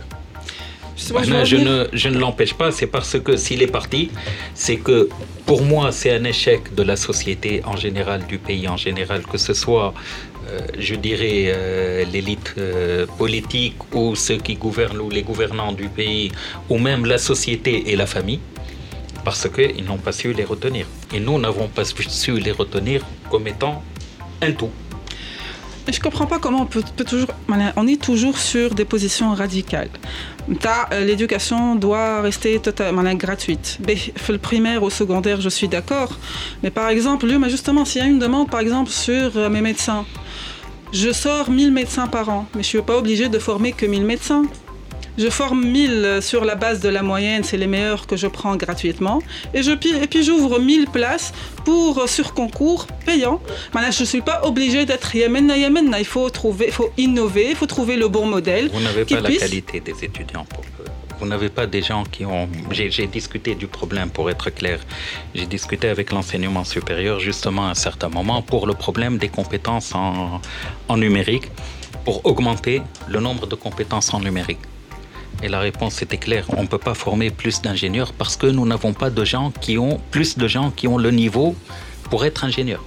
Je ne l'empêche pas, c'est parce que s'il est parti, c'est que pour moi, c'est un échec de la société en général, du pays en général, que ce soit, je dirais, l'élite politique ou ceux qui gouvernent ou les gouvernants du pays, ou même la société et la famille, parce qu'ils n'ont pas su les retenir. Et nous n'avons pas su les retenir comme étant un tout. Je ne comprends pas comment on est toujours sur des positions radicales. L'éducation doit rester totalement gratuite. Le primaire ou secondaire, je suis d'accord. Mais par exemple, justement, s'il y a une demande, par exemple, sur mes médecins, je sors 1000 médecins par an, mais je ne suis pas obligée de former que 1000 médecins. Je forme 1000 sur la base de la moyenne, c'est les meilleurs que je prends gratuitement. Et puis j'ouvre 1000 places sur concours payant. Maintenant, je ne suis pas obligée d'être Yémen. Il faut innover, il faut trouver le bon modèle. Vous n'avez pas la qualité des étudiants. Vous n'avez pas des gens qui ont... J'ai discuté du problème, pour être clair. J'ai discuté avec l'enseignement supérieur, justement, à un certain moment, pour le problème des compétences en numérique, pour augmenter le nombre de compétences en numérique. Et la réponse était claire, on ne peut pas former plus d'ingénieurs parce que nous n'avons pas plus de gens qui ont le niveau pour être ingénieurs.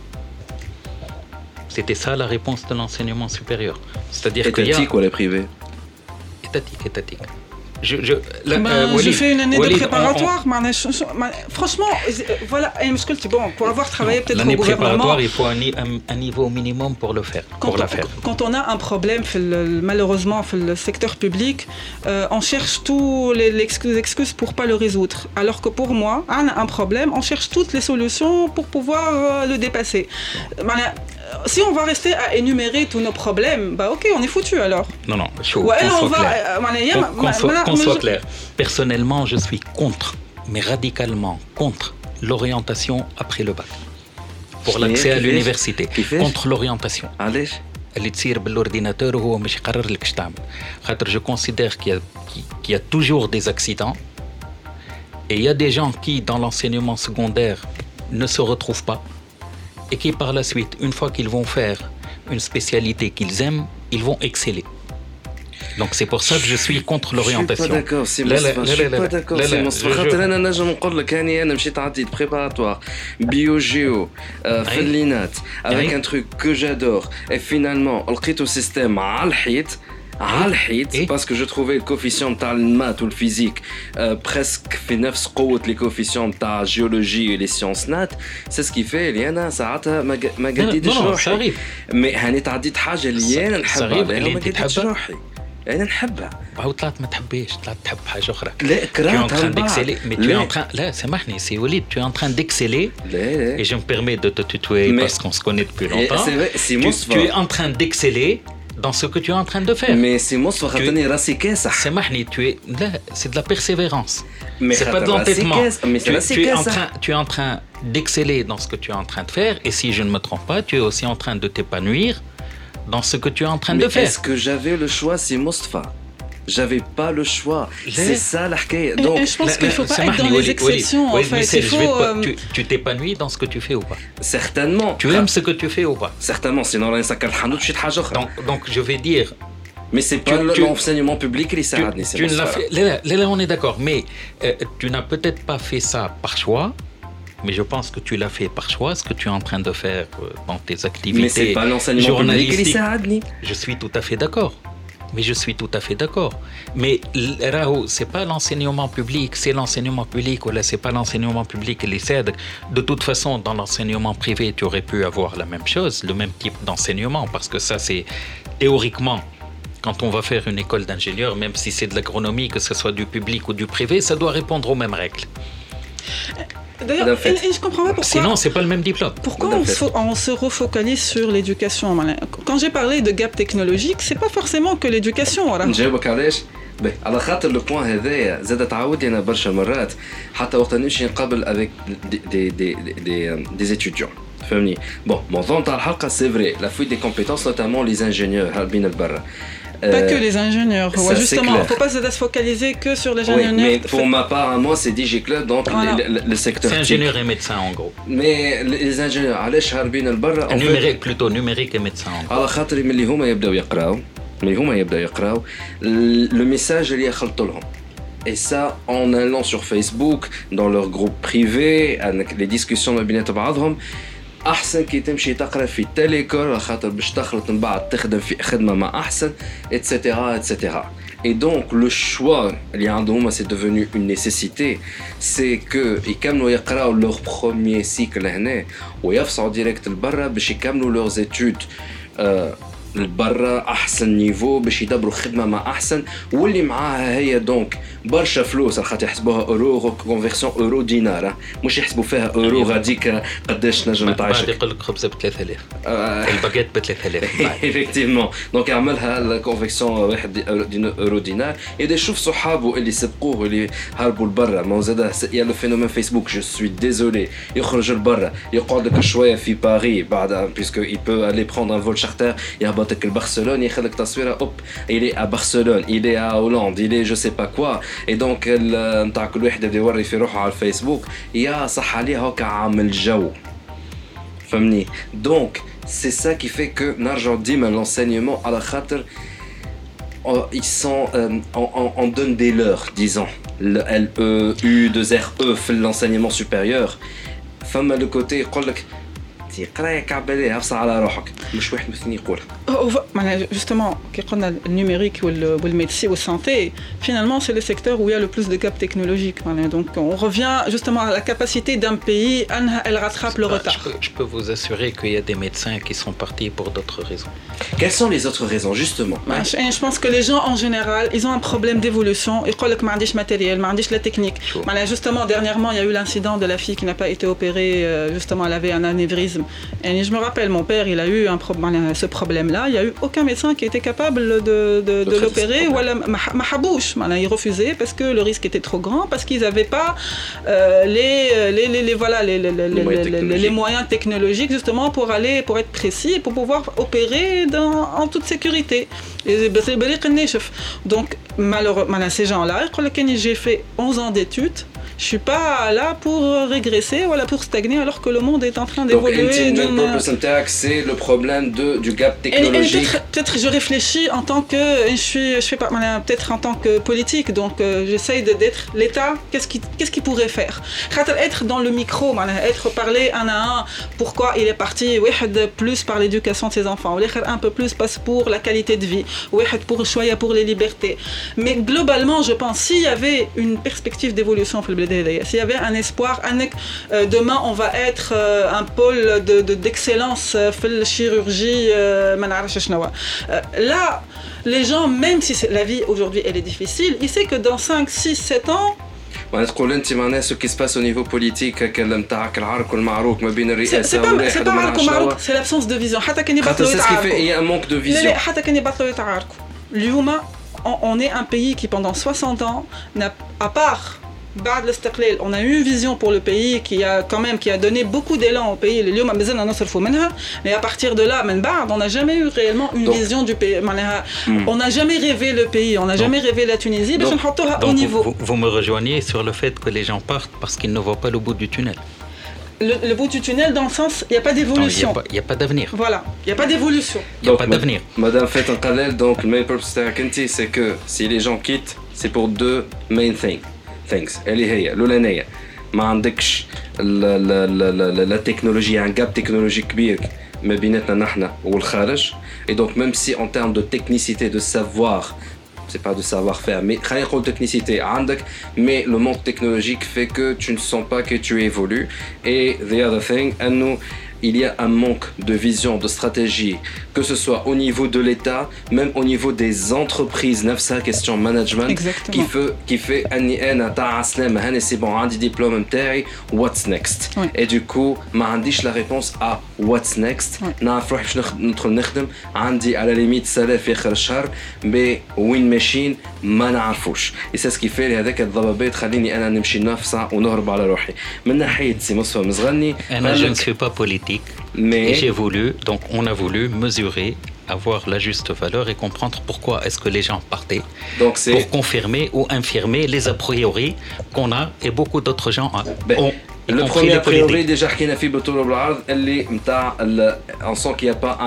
C'était ça la réponse de l'enseignement supérieur. C'est-à-dire étatique ou les privés? Étatique. J'ai fait une année de préparatoire. Franchement, voilà, pour avoir travaillé peut-être au gouvernement. L'année préparatoire, il faut un niveau minimum pour le faire. Quand on a un problème, malheureusement, dans le secteur public, on cherche toutes les excuses pour ne pas le résoudre. Alors que pour moi, on a un problème, on cherche toutes les solutions pour pouvoir le dépasser. Si on va rester à énumérer tous nos problèmes, ok, on est foutu alors. Non, qu'on soit clair. Personnellement, je suis contre, mais radicalement contre l'orientation après le bac. Pour l'accès à l'université. Contre l'orientation. اللي تصير بالordinateur وهو مش يقرر لك اش تعمل. خاطر je considère qu'il y a toujours des accidents et il y a des gens qui dans l'enseignement secondaire ne se retrouvent pas et qui par la suite, une fois qu'ils vont faire une spécialité qu'ils aiment, ils vont exceller. Donc c'est pour ça que je suis contre l'orientation. Je suis pas d'accord, c'est Moustapha. خاطر انا نجم نقول لك هاني انا مشيت عديت بريباراتوار بيو جيو فلينات avec un truc que j'adore et finalement لقيتو سيستم على الحيط parce que je trouvais le coefficient تاع المات والفيزيك presque في نفس قوة les coefficients تاع الجيولوجي et les sciences nat. C'est ce qui fait اللي انا ساعتها ما قديتش روحي. مي هاني تعديت حاجة اللي انا نحبها ما قديتش روحي. أنا نحبها. باهو طلعت ما تحبيش، طلعت تحب حاجة أخرى. لا كرهتها لا سامحني سي وليد، tu es en train d'exceller. Et je me permets de te tutoyer parce qu'on se connaît depuis longtemps. Tu es en train d'exceller dans ce que tu es en train de faire. Mais c'est Moustapha خاطرني راسي كاسح. سامحني c'est de la persévérance. C'est pas de l'entêtement. Tu es en train d'exceller dans ce que tu es en train de faire et si je ne me trompe pas, tu es aussi en train de t'épanouir dans ce que tu es en train de faire. Est-ce que j'avais le choix, c'est Moustapha? J'avais pas le choix. C'est ça la حكاية. Donc je pense qu'il faut pas être dans les exceptions en fait. Tu t'épanouis dans ce que tu fais ou pas? Certainement. Tu aimes ce que tu fais ou pas? Certainement, sinon راني نسكر الحانوت شي حاجة أخرى. Donc je vais dire. Mais c'est pas l'enseignement public qui s'arrête. Là on est d'accord, mais tu n'as peut-être pas fait ça par choix. Mais je pense que tu l'as fait par choix, ce que tu es en train de faire dans tes activités. Mais c'est pas l'enseignement public qui s'arrête. Je suis tout à fait d'accord. Mais je suis tout à fait d'accord. Mais Raoult, c'est pas l'enseignement public, c'est l'enseignement public, ou là, c'est pas l'enseignement public et les aides. De toute façon, dans l'enseignement privé, tu aurais pu avoir la même chose, le même type d'enseignement, parce que ça, c'est théoriquement, quand on va faire une école d'ingénieur, même si c'est de l'agronomie, que ce soit du public ou du privé, ça doit répondre aux mêmes règles. D'ailleurs, je comprends pas pourquoi. Sinon, c'est pas le même diplôme. Pourquoi on se refocalise sur l'éducation? Quand j'ai parlé de gap technologique, c'est pas forcément que l'éducation. نجاوبك علاش؟ على خاطر لو بوين هذايا زاد تعاودي انا برشا مرات حتى وقت نمشي نقابل افيك دي étudiants. فهمني؟ بون موضوع نتاع الحلقه سي فري لا فويت دي كومبيتونس نوتامون لي انجينيور هاربين البرا. Pas que les ingénieurs. Ouais, justement, il ne faut pas se focaliser que sur les ingénieurs. Oui, mais pour ma part, moi, c'est DigiClub, donc voilà. le secteur. C'est ingénieur et médecin en gros. Mais les ingénieurs, علاش هاربين البرا؟ Numérique plutôt, numérique et médecin en gros. على خاطر ملي هما يبداو يقراو, le message اللي يخلطوا لهم. Et ça, en allant sur Facebook, dans leur groupe privé, avec les discussions ما بينات بعضهم, احسن كي تمشي تقرا في تيليكول خاطر باش تخلط من بعد تخدم في خدمه مع احسن etc. Et donc le choix اللي عندهم c'est devenu une nécessité, c'est que يكملوا يقراو leur premier cycle هنا ويفصلوا ديريكت لبرا باش يكملوا leurs études لبرا احسن نيفو باش يدبروا خدمه مع احسن واللي معاها هي دونك برشا فلوس خاطر يحسبوها اورو كونفيرسيون اورو دينار مش يحسبوا فيها اورو غاديك قداش نجم تعيش بعد يقول لك خبزه ب 3000 الباكيت ب 3000 effectivement دونك يعملها لا كونفيرسيون 1 اورو دينار يدي شوف صحابه اللي سبقوه اللي هربوا لبرا ما زاد يا لو فينومين فيسبوك جو سوي ديزولي يخرج لبرا يقعد لك شويه في باريس بعد بيسكو il peut aller prendre un vol charter يهبطك لبرشلونه يخليك تصويره اوب il est à Barcelone il est à Hollande il est je sais pas quoi et donc نتاع كل واحد اللي يوري في روحه على الفيسبوك يا صح عليه هكا عامل جو فهمني donc c'est ça qui fait que نرجع ديما l'enseignement على خاطر ils sont on donne des leurs disons le LE2RE في l'enseignement supérieur فما le côté يقول لك قرايه كعباليه افصل على روحك مش واحد مثني يقولها معناها justement كي قلنا النيميريك والميدecine والsanté finalement c'est le secteur où il y a le plus de gap technologique donc on revient justement à la capacité d'un pays elle rattrape le retard. Je peux vous assurer qu'il y a des médecins qui sont partis pour d'autres raisons. Quelles sont les autres raisons justement? Je pense que les gens en général ils ont un problème d'évolution يقول لك ما عنديش matériel ما عنديش la technique معناها justement dernièrement il y a eu l'incident de la fille qui n'a pas été opérée justement elle avait un anévrisme. Et je me rappelle, mon père, il a eu ce problème-là. Il n'y a eu aucun médecin qui était capable de l'opérer. Ou Mahabouche, il refusait parce que le risque était trop grand, parce qu'ils n'avaient pas les moyens technologiques justement pour être précis, pour pouvoir opérer en toute sécurité. Donc, malheureusement, ces gens-là, j'ai fait 11 ans d'études. Je suis pas là pour régresser ou pour stagner alors que le monde est en train d'évoluer. Donc, c'est le problème du gap technologique. Et peut-être je réfléchis en tant que je fais pas peut-être en tant que politique donc j'essaye d'être l'État qu'est-ce qu'il pourrait faire. Être dans le micro, être parler un à un pourquoi il est parti plus par l'éducation de ses enfants ou un peu plus passe pour la qualité de vie ou pour les libertés. Mais globalement, je pense s'il y avait une perspective d'évolution s'il y avait un espoir demain on va être un pôle d'excellence في الchirurgie là les gens même si la vie aujourd'hui elle est difficile ils savent que dans 5 6 7 ans تقول انت معناها ce qui se passe au niveau politique كلام تاعك العرك والمعروك ما بين الرئاسه والواحد c'est pas عرك ومعروك c'est l'absence de vision حتى كان يبطلوا يتعاركوا il y a un manque de vision حتى كان يبطلوا يتعاركوا اليوم on est un pays qui pendant 60 ans n'a à part بعد الاستقلال on a eu une vision pour le pays qui a donné beaucoup d'élan au pays اليوم مازلنا نصرفوا منها mais à partir de là من بعد on n'a jamais eu réellement une vision du pays on n'a jamais rêvé le pays on n'a jamais rêvé la Tunisie باش نحطوها au niveau. Vous me rejoignez sur le fait que les gens partent parce qu'ils ne voient pas le bout du tunnel. Le bout du tunnel dans le sens il y a pas d'évolution. Il y a pas d'avenir. Voilà, il y a pas d'évolution. Il y a pas d'avenir. Madame fait un qalel donc le main purpose c'est que si les gens quittent c'est pour deux main things اللي هي الأولانية ما عندكش لا تكنولوجيا عن جاب تكنولوجي كبير ما بيناتنا نحن والخارج. Et donc même si en termes de technicité de savoir, c'est pas de savoir-faire, mais خلينا نقول technicité عندك, mais le monde technologique fait que tu ne sens pas que tu évolues. Et the other thing, أنه il y a un manque de vision, de stratégie, que ce soit au niveau de l'État, même au niveau des entreprises, نفسها question management. Exactement. qui fait أني أنا تاع سلام هاني سي بون عندي ديبلوم متاعي what's next. Ouais. Et du coup ما عنديش la réponse à what's next. نعرف روحي باش ندخل نخدم, عندي على ليميت سالير في آخر الشهر, mais وين ماشيين ما نعرفوش. Et c'est ce qui fait هذاك الضبابات تخليني أنا نمشي نفسع ونهرب على روحي. من ناحية سي مصطفى مزغني أنا je ne suis pas politique. Mais Et j'ai voulu, donc on a voulu mesurer, avoir la juste valeur et comprendre pourquoi est-ce que les gens partaient. donc c'est Pour confirmer ou infirmer les a priori qu'on a et beaucoup d'autres gens ont. Le premier a priori déjà حكينا فيه بالطول وبالعرض اللي متاع on sent qu'il y a pas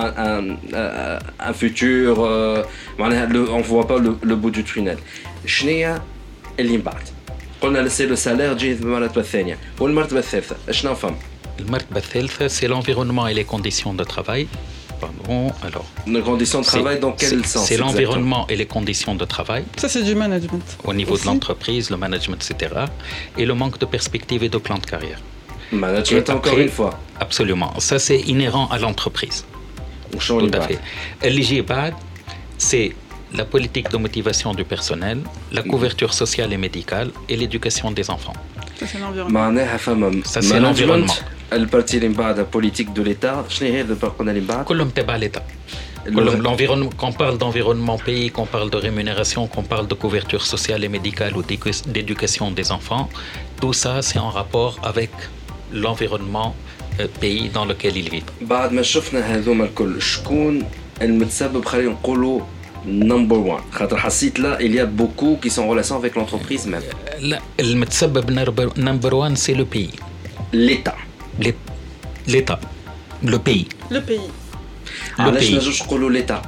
un futur, معناها on voit pas le bout du tunnel. شنيا اللي من بعد؟ قلنا لسه لو سالير جاي المرتبة الثانية والمرتبة الثالثة شنو فهم؟ المرتبة الثالثة c'est l'environnement et les conditions de travail. Pardon, alors. Les conditions de travail dans quel sens? C'est l'environnement et les conditions de travail. Ça, c'est du management. Au niveau aussi de l'entreprise, le management, etc. Et le manque de perspective et de plan de carrière. Management, encore une fois. Absolument. Ça, c'est inhérent à l'entreprise. Tout à fait. L'IGBAD, c'est la politique de motivation du personnel, la couverture sociale et médicale et l'éducation des enfants. Ça, c'est l'environnement. Ça, c'est l'environnement. البارتي اللي من بعد بوليتيك دو ليتا شنو هي قلنا اللي من بعد كلهم تبع ليتا l'environnement qu'on parle d'environnement pays qu'on parle de rémunération qu'on parle de couverture sociale et médicale ou d'éducation des enfants tout ça c'est en rapport avec l'environnement pays dans lequel ils vivent. بعد ما شفنا هذوما الكل شكون المتسبب خلينا نقولوا number one خاطر حسيت là il y a beaucoup qui sont en relation avec l'entreprise même. لا المتسبب number one c'est le pays. L'État. L'État. Le pays. Le pays. علاش نجوش نقولوا l'État?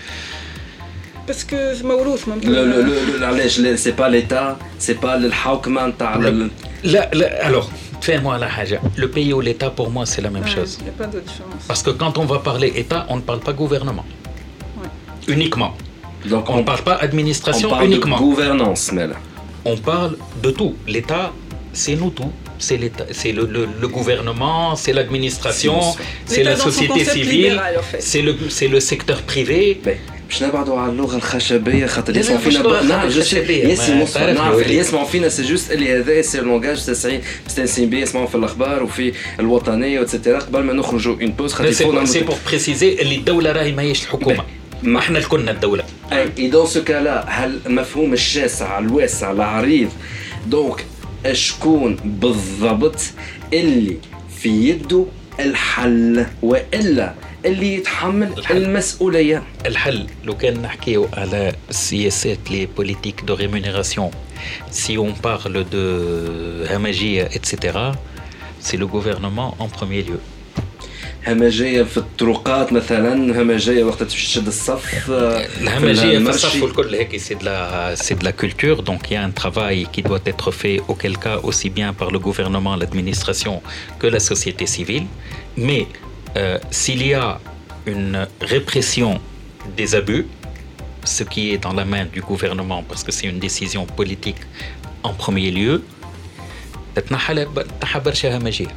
Parce que c'est موروث علاش c'est pas l'État, c'est pas الحوكمة نتاع لا alors fais-moi la حاجة. Le pays ou l'État pour moi c'est la même chose. Il n'y a pas de différence. Parce que quand on va parler État, on ne parle pas gouvernement. Ouais. Uniquement. Donc on ne parle pas administration uniquement. On parle de gouvernance, Mel. On parle de tout. L'État, c'est nous tous. C'est l'État, c'est le gouvernement, c'est l'administration, c'est la société civile, libéral, en fait. c'est le secteur privé. باش نبعدوا على اللغه الخشبيه خاطر يسمعوا فينا نعم يسمعوا اللي يسمعوا فينا سي جوست اللي هذا سي لونغاج تسعين مستانسين بيه يسمعوا في الاخبار وفي الوطنيه وتسترا قبل ما نخرجوا اون بوز خاطر سي بور بريسيزي اللي الدوله راهي ماهيش الحكومه ما احنا كلنا الدوله. اي دون سو كالا هل المفهوم الشاسع الواسع العريض دونك شكون بالضبط اللي في يده الحل والا اللي يتحمل المسؤوليه؟ الحل لو كان نحكيو على السياسات لي بوليتيك دو ريمونيراسيون si on parle de همجيه etc c'est le gouvernement en premier lieu. همجيه في الطرقات مثلا, همجيه وقت تشد الصف, الهمجيه في الصف والكل هيك c'est de la culture, donc il y a un travail qui doit être fait auquel cas aussi bien par le gouvernement, l'administration que la société civile, mais s'il y a une répression des abus, ce qui est dans la main du gouvernement parce que c'est une décision politique en premier lieu, تتنحى برشا همجيه.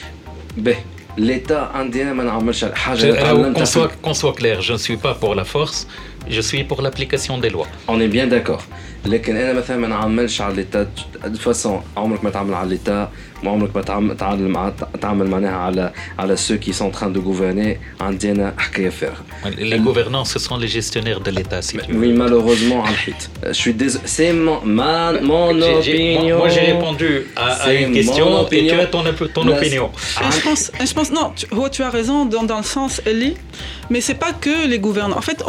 L'État indien ما نعملش حاجه. Qu'on soit clair, je ne suis pas pour la force, je suis pour l'application des lois. On est bien d'accord. لكن انا مثلا ما نعملش على ليتا دو فاسون, عمرك ما تعمل على ليتا, عمرك ما تعمل معناها على ceux qui sont en train de gouverner. عندنا حكايه فارغه. Les gouvernants ce sont les gestionnaires de l'État si tu veux. Oui, malheureusement على الحيط. Je suis désolé, c'est mon opinion. Moi j'ai répondu à une question et tu as ton opinion. Je pense non, tu as raison dans le sens Eli, mais c'est pas que les gouvernants. En fait,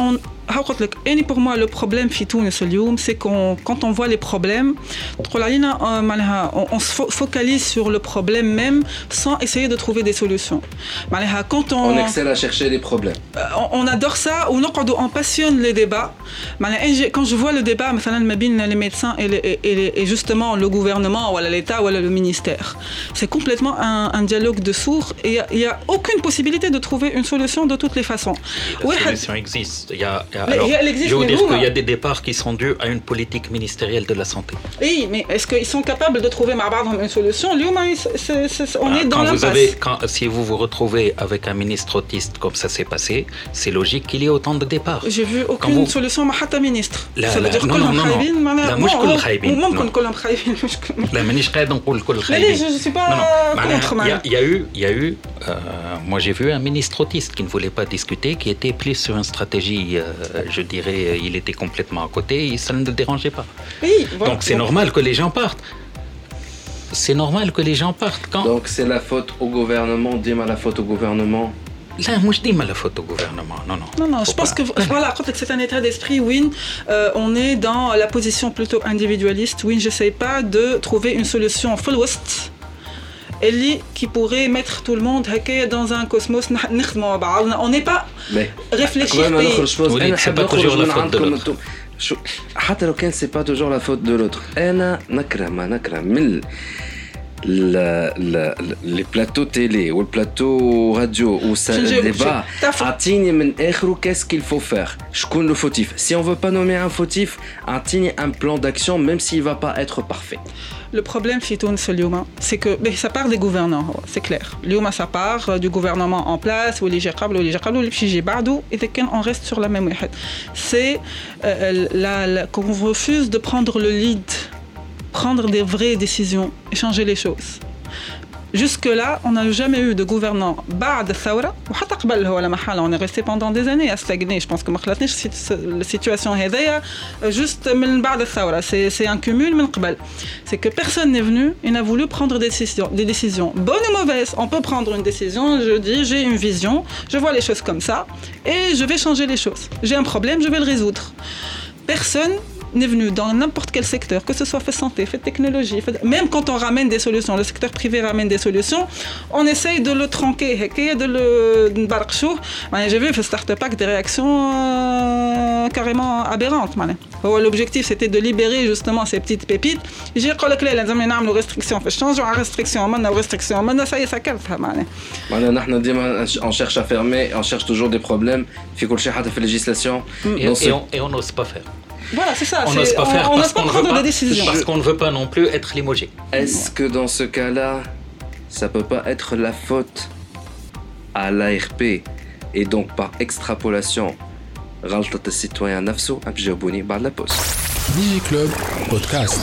pour moi, le problème c'est quand on voit les problèmes, on se focalise sur le problème même sans essayer de trouver des solutions. Quand on excelle à chercher les problèmes. On adore ça, on passionne les débats. Quand je vois le débat les médecins et justement le gouvernement ou l'État ou le ministère, c'est complètement un dialogue de sourds et il n'y a aucune possibilité de trouver une solution de toutes les façons. La solution existe. Je veux dire qu'il y a des départs qui sont dus à une politique ministérielle de la santé. Oui, mais est-ce qu'ils sont capables de trouver une solution? On est dans l'impasse. Si vous vous retrouvez avec un ministre autiste comme ça s'est passé, c'est logique qu'il y ait autant de départs. J'ai vu aucune solution حتى ministre. Ça veut dire كلهم خايبين. لا مش كل خايبين. ممكن كلهم خايبين. لا مانيش قاعد نقول كل خايبين. Je suis pas contre. Il y a eu moi j'ai vu un ministre autiste qui ne voulait pas discuter, qui était plus sur une stratégie, je dirais, il était complètement à côté, et ça ne le dérangeait pas. Oui, voilà. Donc c'est normal que les gens partent. C'est normal que les gens partent. Donc c'est la faute au gouvernement, dis-moi la faute au gouvernement. Là, moi je dis mal la faute au gouvernement. Non, je pense que voilà, c'est un état d'esprit où on est dans la position plutôt individualiste, où j'essaie pas de trouver une solution full west. Qui pourrait mettre tout le monde dans un cosmos. On n'est pas réfléchir. C'est pas toujours la faute de l'autre. حتى لو كان c'est pas toujours la faute de l'autre. أنا نكره من les plateaux télé ou le plateau radio ou ça débat عطيني من آخره qu'est-ce qu'il faut faire. شكون le fautif. Si on veut pas nommer un fautif, عطيني un plan d'action même s'il va pas être parfait. Le problème c'est que ça part des gouvernants, c'est clair. Ça part du gouvernement en place ou on reste sur la même. C'est qu'on refuse de prendre le lead, prendre des vraies décisions et changer les choses. Jusque-là, on n'a jamais eu de gouvernant بعد الثورة وحتى قبل هو لما حال on est resté pendant des années à stagner. Je pense que ما خلاتنيش la situation هذيا juste من بعد الثورة. C'est un cumul من قبل. C'est que personne n'est venu et n'a voulu prendre des décisions bonnes ou mauvaises. On peut prendre une décision, je dis j'ai une vision, je vois les choses comme ça et je vais changer les choses. J'ai un problème, je vais le résoudre. Personne n'est venu dans n'importe quel secteur, que ce soit fait santé, fait technologie, même quand on ramène des solutions, le secteur privé ramène des solutions, on essaye de le tronquer, de le barquer. J'ai vu Start-up Pack des réactions carrément aberrantes. L'objectif c'était de libérer justement ces petites pépites. J'ai dit que les hommes ont des restrictions, changeons la restriction, maintenant ça y est, ça calme. On cherche à fermer, on cherche toujours des problèmes. Il faut que le fait législation. Et on n'ose pas faire. Voilà, c'est ça. On n'ose pas faire parce qu'on ne veut pas non plus être limogé. Est-ce que dans ce cas-là, ça peut pas être la faute à l'ARP et donc par extrapolation, غلطة الcitoyen نفسه؟ أبجاوبوني بعد la pause. Digi Club Podcast.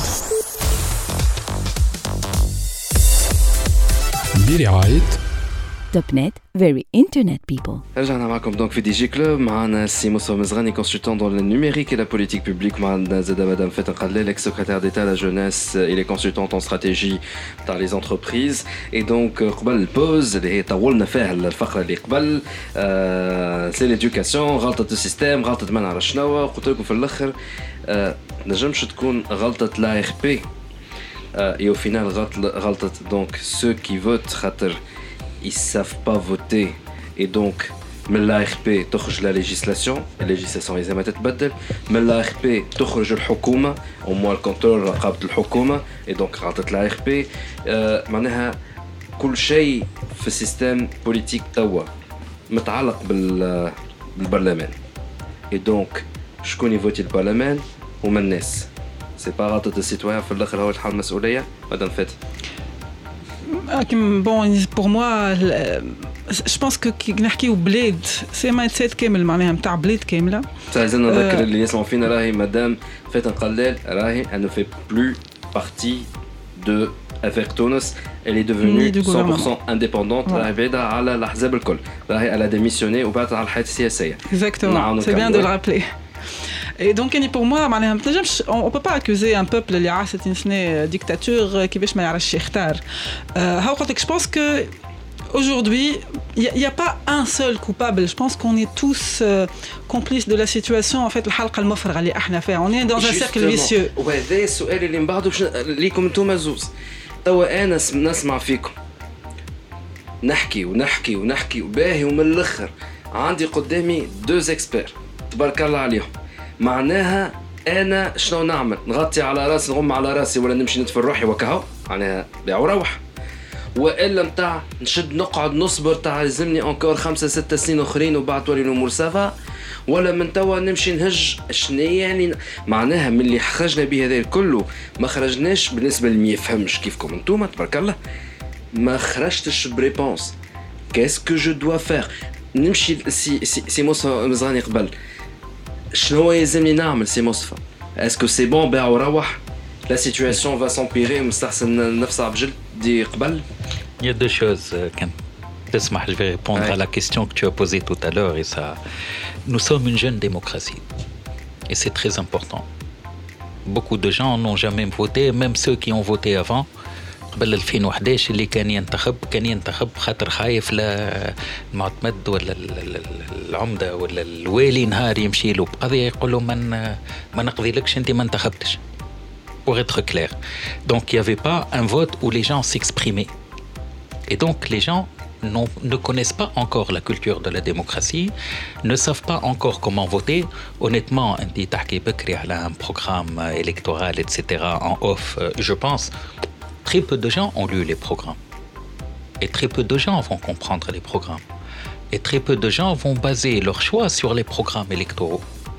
برعاية Topnet, very internet people. رجعنا معكم دونك في دي جي كلوب. معنا السي مصطفى مزغاني كونسلتون دون النوميريك et la politique publique. معنا زادا مدام فاتن قلال ex secrétaire d'État à la jeunesse et les consultants en stratégie dans les entreprises. Et donc قبل البوز اللي هي طولنا فيها الفقرة اللي قبل سي ليدوكاسيون غلطة السيستم غلطة ما نعرف شنو. قلت لكم في الآخر نجمش تكون غلطة لا ار بي et au final غلطة donc ceux qui votent خاطر ils savent pas voter et donc من l'ARP تخرج la législation لازم تتبدل. من l'ARP تخرج الحكومة au moins الكنترول رقابة الحكومة et donc غلطة l'ARP. معناها كل شيء في السيستم بوليتيك توا متعلق بالبرلمان et donc شكون يفوتي البرلمان هما الناس. سي با غلطة السيتويان في الاخر هو الحال المسؤولية. مدام فات Bon, pour moi, je pense que نحكيو بلاد سي مايند سيت كامل معناها نتاع بلاد كامله. لازم نذكر اللي يسمعوا فينا راهي مدام فاتن قلال راهي elle ne fait plus partie de FR Tunis. Elle est devenue 100% indépendante. راهي بعيدة على الأحزاب الكل. راهي elle a démissionné وبعدت على الحياة السياسية. Exactement, c'est bien de le rappeler. Et donc pour moi on peut pas accuser un peuple اللي عاشت سنة dictature كيفاش ما يعرفش يختار. je pense que aujourd'hui, il n'y a pas un seul coupable. Je pense qu'on est tous complices de la situation. En fait, on est dans un cercle vicieux. وهذا السؤال اللي من بعده ليكم انتم زوز. توا انا نسمع فيكم نحكي وباهي ومن الاخر عندي قدامي 2 اكسبير تبارك الله عليهم. معناها انا شنو نعمل؟ نغطي على راسي، نغم على راسي، ولا نمشي ندفن روحي وكهو؟ معناها بيع وروح. والا متاع نشد نقعد نصبر تاع لازمني انكور 5-6 سنين اخرين وبعد تولي الامور سافا، ولا من توا نمشي نهج شنو يعني؟ معناها من اللي خرجنا به هذا كله ما خرجناش بالنسبه اللي ما يفهمش كيفكم انتوما تبارك الله، ما خرجتش بريبونس. كاسكو جو دوا فير؟ نمشي سي مصطفى مزغاني قبل شنو يلزمني نعمل؟ سي مصطفى اسكو سي بون باع وروح؟ لا سيتواسيون va s'empirer مستحسن نفسها بجلد دي قبل؟ Il y a 2 choses. Je vais répondre à la question que tu as posée tout à l'heure. Et ça, nous sommes une jeune démocratie. Et c'est très important. Beaucoup de gens n'ont jamais voté, même ceux qui ont voté avant. قبل 2011 اللي كان ينتخب خاطر خايف لا المعتمد ولا العمدة ولا الوالي نهار يمشي له بقضية يقول له ما نقضي لكش انت ما انتخبتش. Pour être clair. Donc il n'y avait pas un vote où les gens s'exprimaient. Et donc les gens ne connaissent pas encore la culture de la démocratie, ne savent pas encore comment voter. Honnêtement, un programme électoral, etc. en off, je pense, très peu de gens ont lu les programmes. Et très peu de gens vont comprendre les programmes. Et très peu de gens vont baser leur choix sur les programmes électoraux.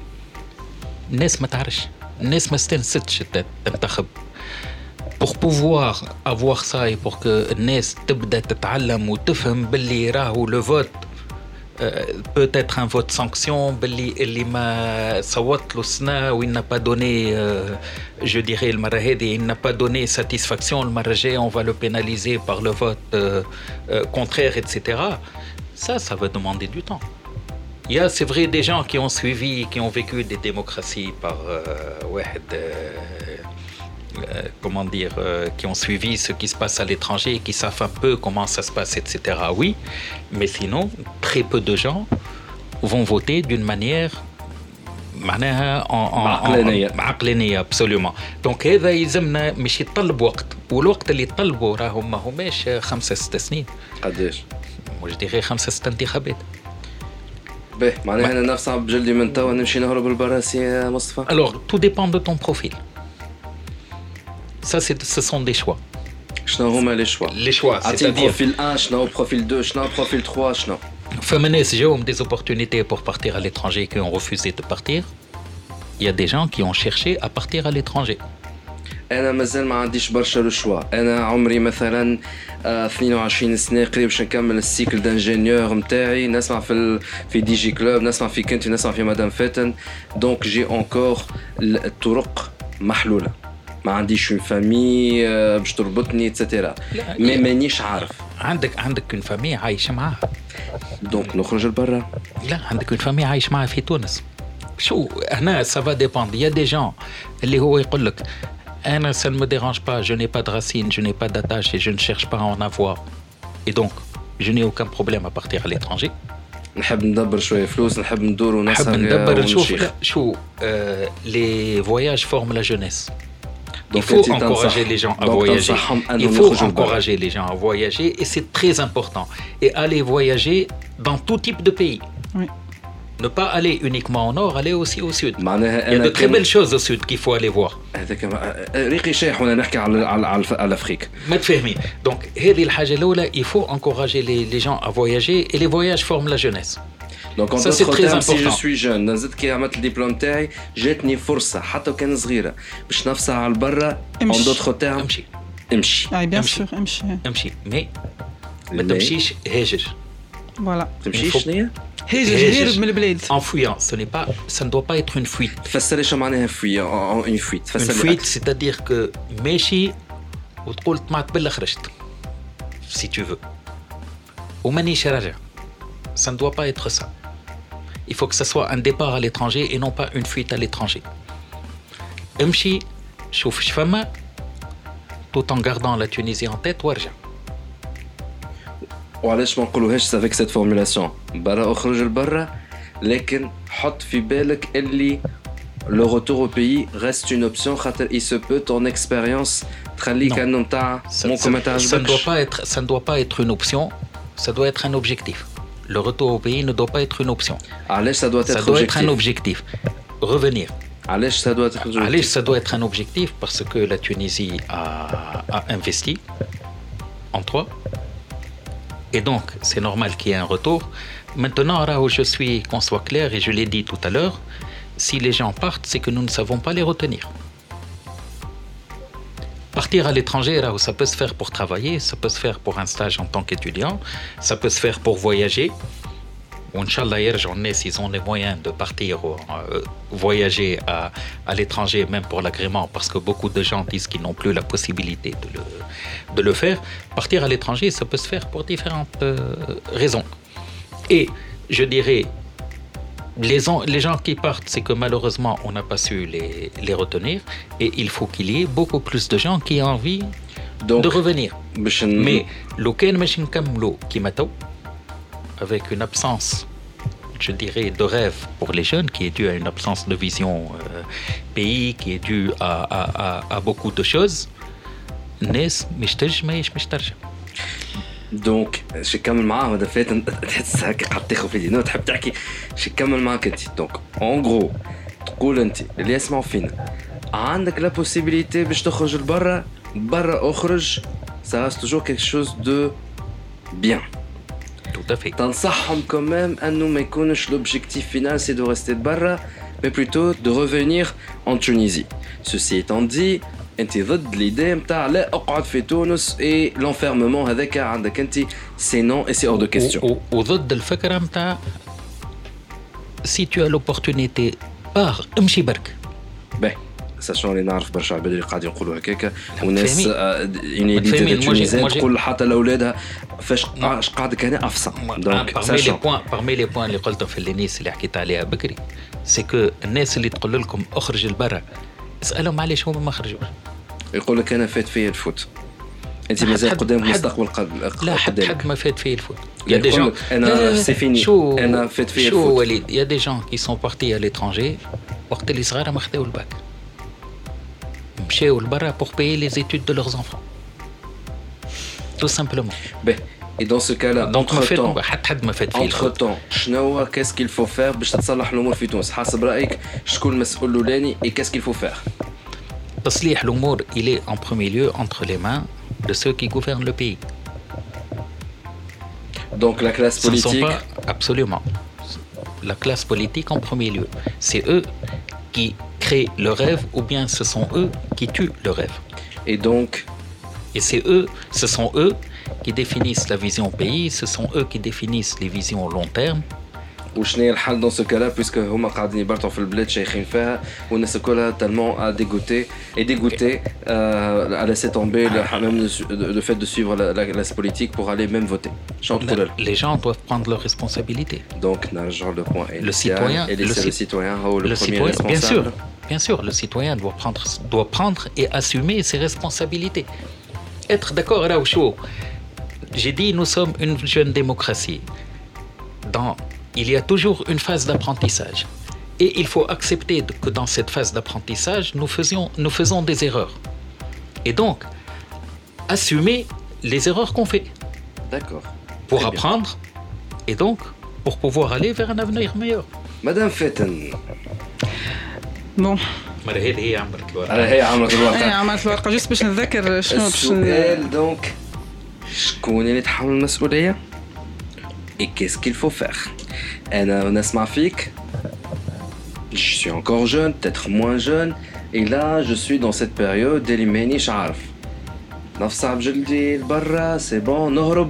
Nes ma تعرفش. الناس ما استنستش تنتخب. Pour pouvoir avoir ça et pour que الناس تبدأ تتعلم وتفهم باللي راهو le vote peut être un vote sanction باللي ما صوت له السنة و il n'a pas donné je dirais المرة هذه il n'a pas donné satisfaction المرة الجاية on va le pénaliser par le vote contraire etc. Ça va demander du temps. Il y a, c'est vrai, des gens qui ont suivi, qui ont vécu des démocraties par comment dire, qui ont suivi ce qui se passe à l'étranger, qui savent un peu comment ça se passe, etc. Oui, mais sinon, très peu de gens vont voter d'une manière عقلانية absolument. Donc هذا يلزمنا مش يتطلب وقت، والوقت اللي يطلبوا راهم ما هماش 5-6 سنين. قداش؟ moi je dirais 5-6 انتخابات. باهي معناها انا نفسي بجلدي من توا نمشي نهرب للبراسي يا مصطفى. Alors tout dépend de ton profil. Ça ce sont des choix. شنو هما لي شوا؟ Les choix, c'est-à-dire بروفيل 1 شنو بروفيل 2 شنو بروفيل 3 شنو؟ فما ناس جاهم des opportunités pour partir à l'étranger qui ont refusé de partir. Il y a des gens qui ont cherché à partir à l'étranger. انا مازال ما عنديش برشا لو شوا. انا عمري مثلا 22 سنه قريب باش نكمل السيكل دانجينيور نتاعي، نسمع في دي جي كلوب، نسمع في كنتي، نسمع في مدام فاتن. دونك جي انكور الطرق محلوله، ما عنديش اون فامي باش تربطني اتسيتيرا، مي مانيش عارف. عندك اون فامي عايشه معاها، دونك نخرج لبرا. لا عندك اون فامي عايش معاها في تونس. شو هنا سافا ديبوند. يا دي جون اللي هو يقول لك أنا ça ne me dérange pas, je n'ai pas de racines, je n'ai pas d'attache et je ne cherche pas à en avoir. Et donc, je n'ai aucun problème à partir à l'étranger. نحب ندبر شوية فلوس، نحب ندور ونسهر ونشيخ. Les voyages forment la jeunesse. Il faut encourager les gens à voyager. Il faut encourager les gens à voyager et c'est très important. Et aller voyager dans tout type de pays. Oui. Ne pas aller uniquement au nord, aller aussi au sud. Il y a de très belles choses au sud qu'il faut aller voir. ريقي شايح وانا نحكي على افريقيا. ما تفهمي. Donc هذه الحاجة الأولى، il faut encourager les gens à voyager et les voyages forment la jeunesse. Donc en d'autres termes, si je suis jeune, نزلت كي عملت الدبلوم تاعي، جاتني فرصة حتى كان صغيرة باش نفسها على البرة. En d'autres termes, امشي. bien sûr, امشي. Mais ما تمشيش هاجر. Voilà. تمشيش شنيا؟ هرب من البلاد. En fuyant, ça ne doit pas être une fuite. تفسري شو معناها fuyant؟ une fuite. Une fuite, c'est-à-dire que ماشي وتقول طمعت بالله خرجت. Si tu veux. ومانيش راجع. Ça ne doit pas être ça. Il faut que ça soit un départ à l'étranger et non pas une fuite à l'étranger. امشي شوف شفما tout en gardant la Tunisie en tête وارجع. وعلاش ما نقولوهاش avec cette formulation برا اخرج لبرا لكن حط في بالك اللي le retour au pays reste une option خاطر il se peut ton expérience تخليك انه نتاع ممكن ما تعجبكش. Ça ne doit pas être une option, ça doit être un objectif. Le retour au pays ne doit pas être une option. علاش ça doit être un objectif. Revenir. علاش ça doit être objectif. علاش ça doit être un objectif parce que la Tunisie a investi en toi. Et donc, c'est normal qu'il y ait un retour. Maintenant, je suis, qu'on soit clair, et je l'ai dit tout à l'heure, si les gens partent, c'est que nous ne savons pas les retenir. Partir à l'étranger, ça peut se faire pour travailler, ça peut se faire pour un stage en tant qu'étudiant, ça peut se faire pour voyager. Inch'Allah, s'ils ont les moyens de partir voyager à l'étranger, même pour l'agrément, parce que beaucoup de gens disent qu'ils n'ont plus la possibilité de le faire. Partir à l'étranger, ça peut se faire pour différentes raisons. Et je dirais, les gens qui partent, c'est que malheureusement, on n'a pas su les retenir. Et il faut qu'il y ait beaucoup plus de gens qui aient envie de revenir. Mais l'auquel machine kamlo qui m'attend, avec une absence, je dirais, de rêve pour les jeunes, qui est due à une absence de vision pays, qui est due à beaucoup de choses. دونك شي كمل معاه هذا فات تحس هكا قاعد تاخذ في دينو تحب تحكي شي كمل معاك انت. دونك اون غرو تقول انت اللي يسمعوا فينا عندك لا بوسيبيليتي باش تخرج لبرا برا اخرج ça reste toujours quelque chose de bien. Tout à fait. تنصحهم quand même انه ما يكونش l'objectif final c'est de rester برا mais plutôt de revenir en Tunisie. Ceci étant dit, انت ضد l'idée نتاع لا اقعد في تونس et l'enfermement هذاك عندك انت c'est non et c'est hors de question. وضد الفكره نتاع si tu as l'opportunité par امشي برك. باهي ساشون اللي نعرف برشا عباد اللي قاعدين يقولوا هكاكا وناس انيديتي تونيزيين تقول حتى لاولادها فاش قاعدك هنا افصل. دونك parmi les points اللي قلتهم في الناس اللي حكيت عليها بكري سي كو الناس اللي تقول لكم اخرج لبرا اسالهم علاش هما ما خرجوش. يقول لك انا فات فيا الفوت انت مازال قدام مستقبل لا حد ما فات فيه الفوت. يا دي جون انا سي فيني انا فات فيا الفوت. شو وليد يا دي جون كي سون بارتي à l'étranger وقت اللي صغار ما خداو الباك مشاو لبرا pour payer les études de leurs enfants tout simplement. Ben et dans ce cas-là entre-temps حد ما فات فيه entre-temps شنو qu'est-ce qu'il faut faire باش تتصلح الامور في تونس حسب رايك شكون المسؤول الاولاني et qu'est-ce qu'il faut faire. تصليح الامور il est en premier lieu entre les mains de ceux qui gouvernent le pays. Donc la classe politique absolument la classe politique en premier lieu, c'est eux qui créent le rêve ou bien ce sont eux qui tuent le rêve. Et donc ce sont eux qui définissent la vision pays, ce sont eux qui définissent les visions long terme. وشنو هي الحل dans ce cas-là puisque هما قاعدين يبرطوا في البلاد شايخين فيها والناس كلها tellement dégoûté à laisser tomber le fait de suivre la classe politique pour aller même voter. Les gens doivent prendre leurs responsabilités. Donc نرجع le point le citoyen et laisser le citoyen le premier responsable. Bien sûr, le citoyen doit prendre et assumer ses responsabilités. Être d'accord là où chaud. J'ai dit nous sommes une jeune démocratie. Il y a toujours une phase d'apprentissage. Et il faut accepter que dans cette phase d'apprentissage, nous faisons des erreurs. Et donc, assumer les erreurs qu'on fait. D'accord. Pour apprendre et donc pour pouvoir aller vers un avenir meilleur. Madame Fetten. Bon. هي عملت الورقة جست باش نتذكر شنو السؤال. دونك شكون اللي تحمل المسؤولية؟ Et qu'est-ce qu'il faut faire? أنا نسمع فيك. Je suis encore jeune, peut-être moins jeune. Et là, je suis dans cette période اللي مانيش عارف. نفصل بجلدي لبرا سي بون نهرب.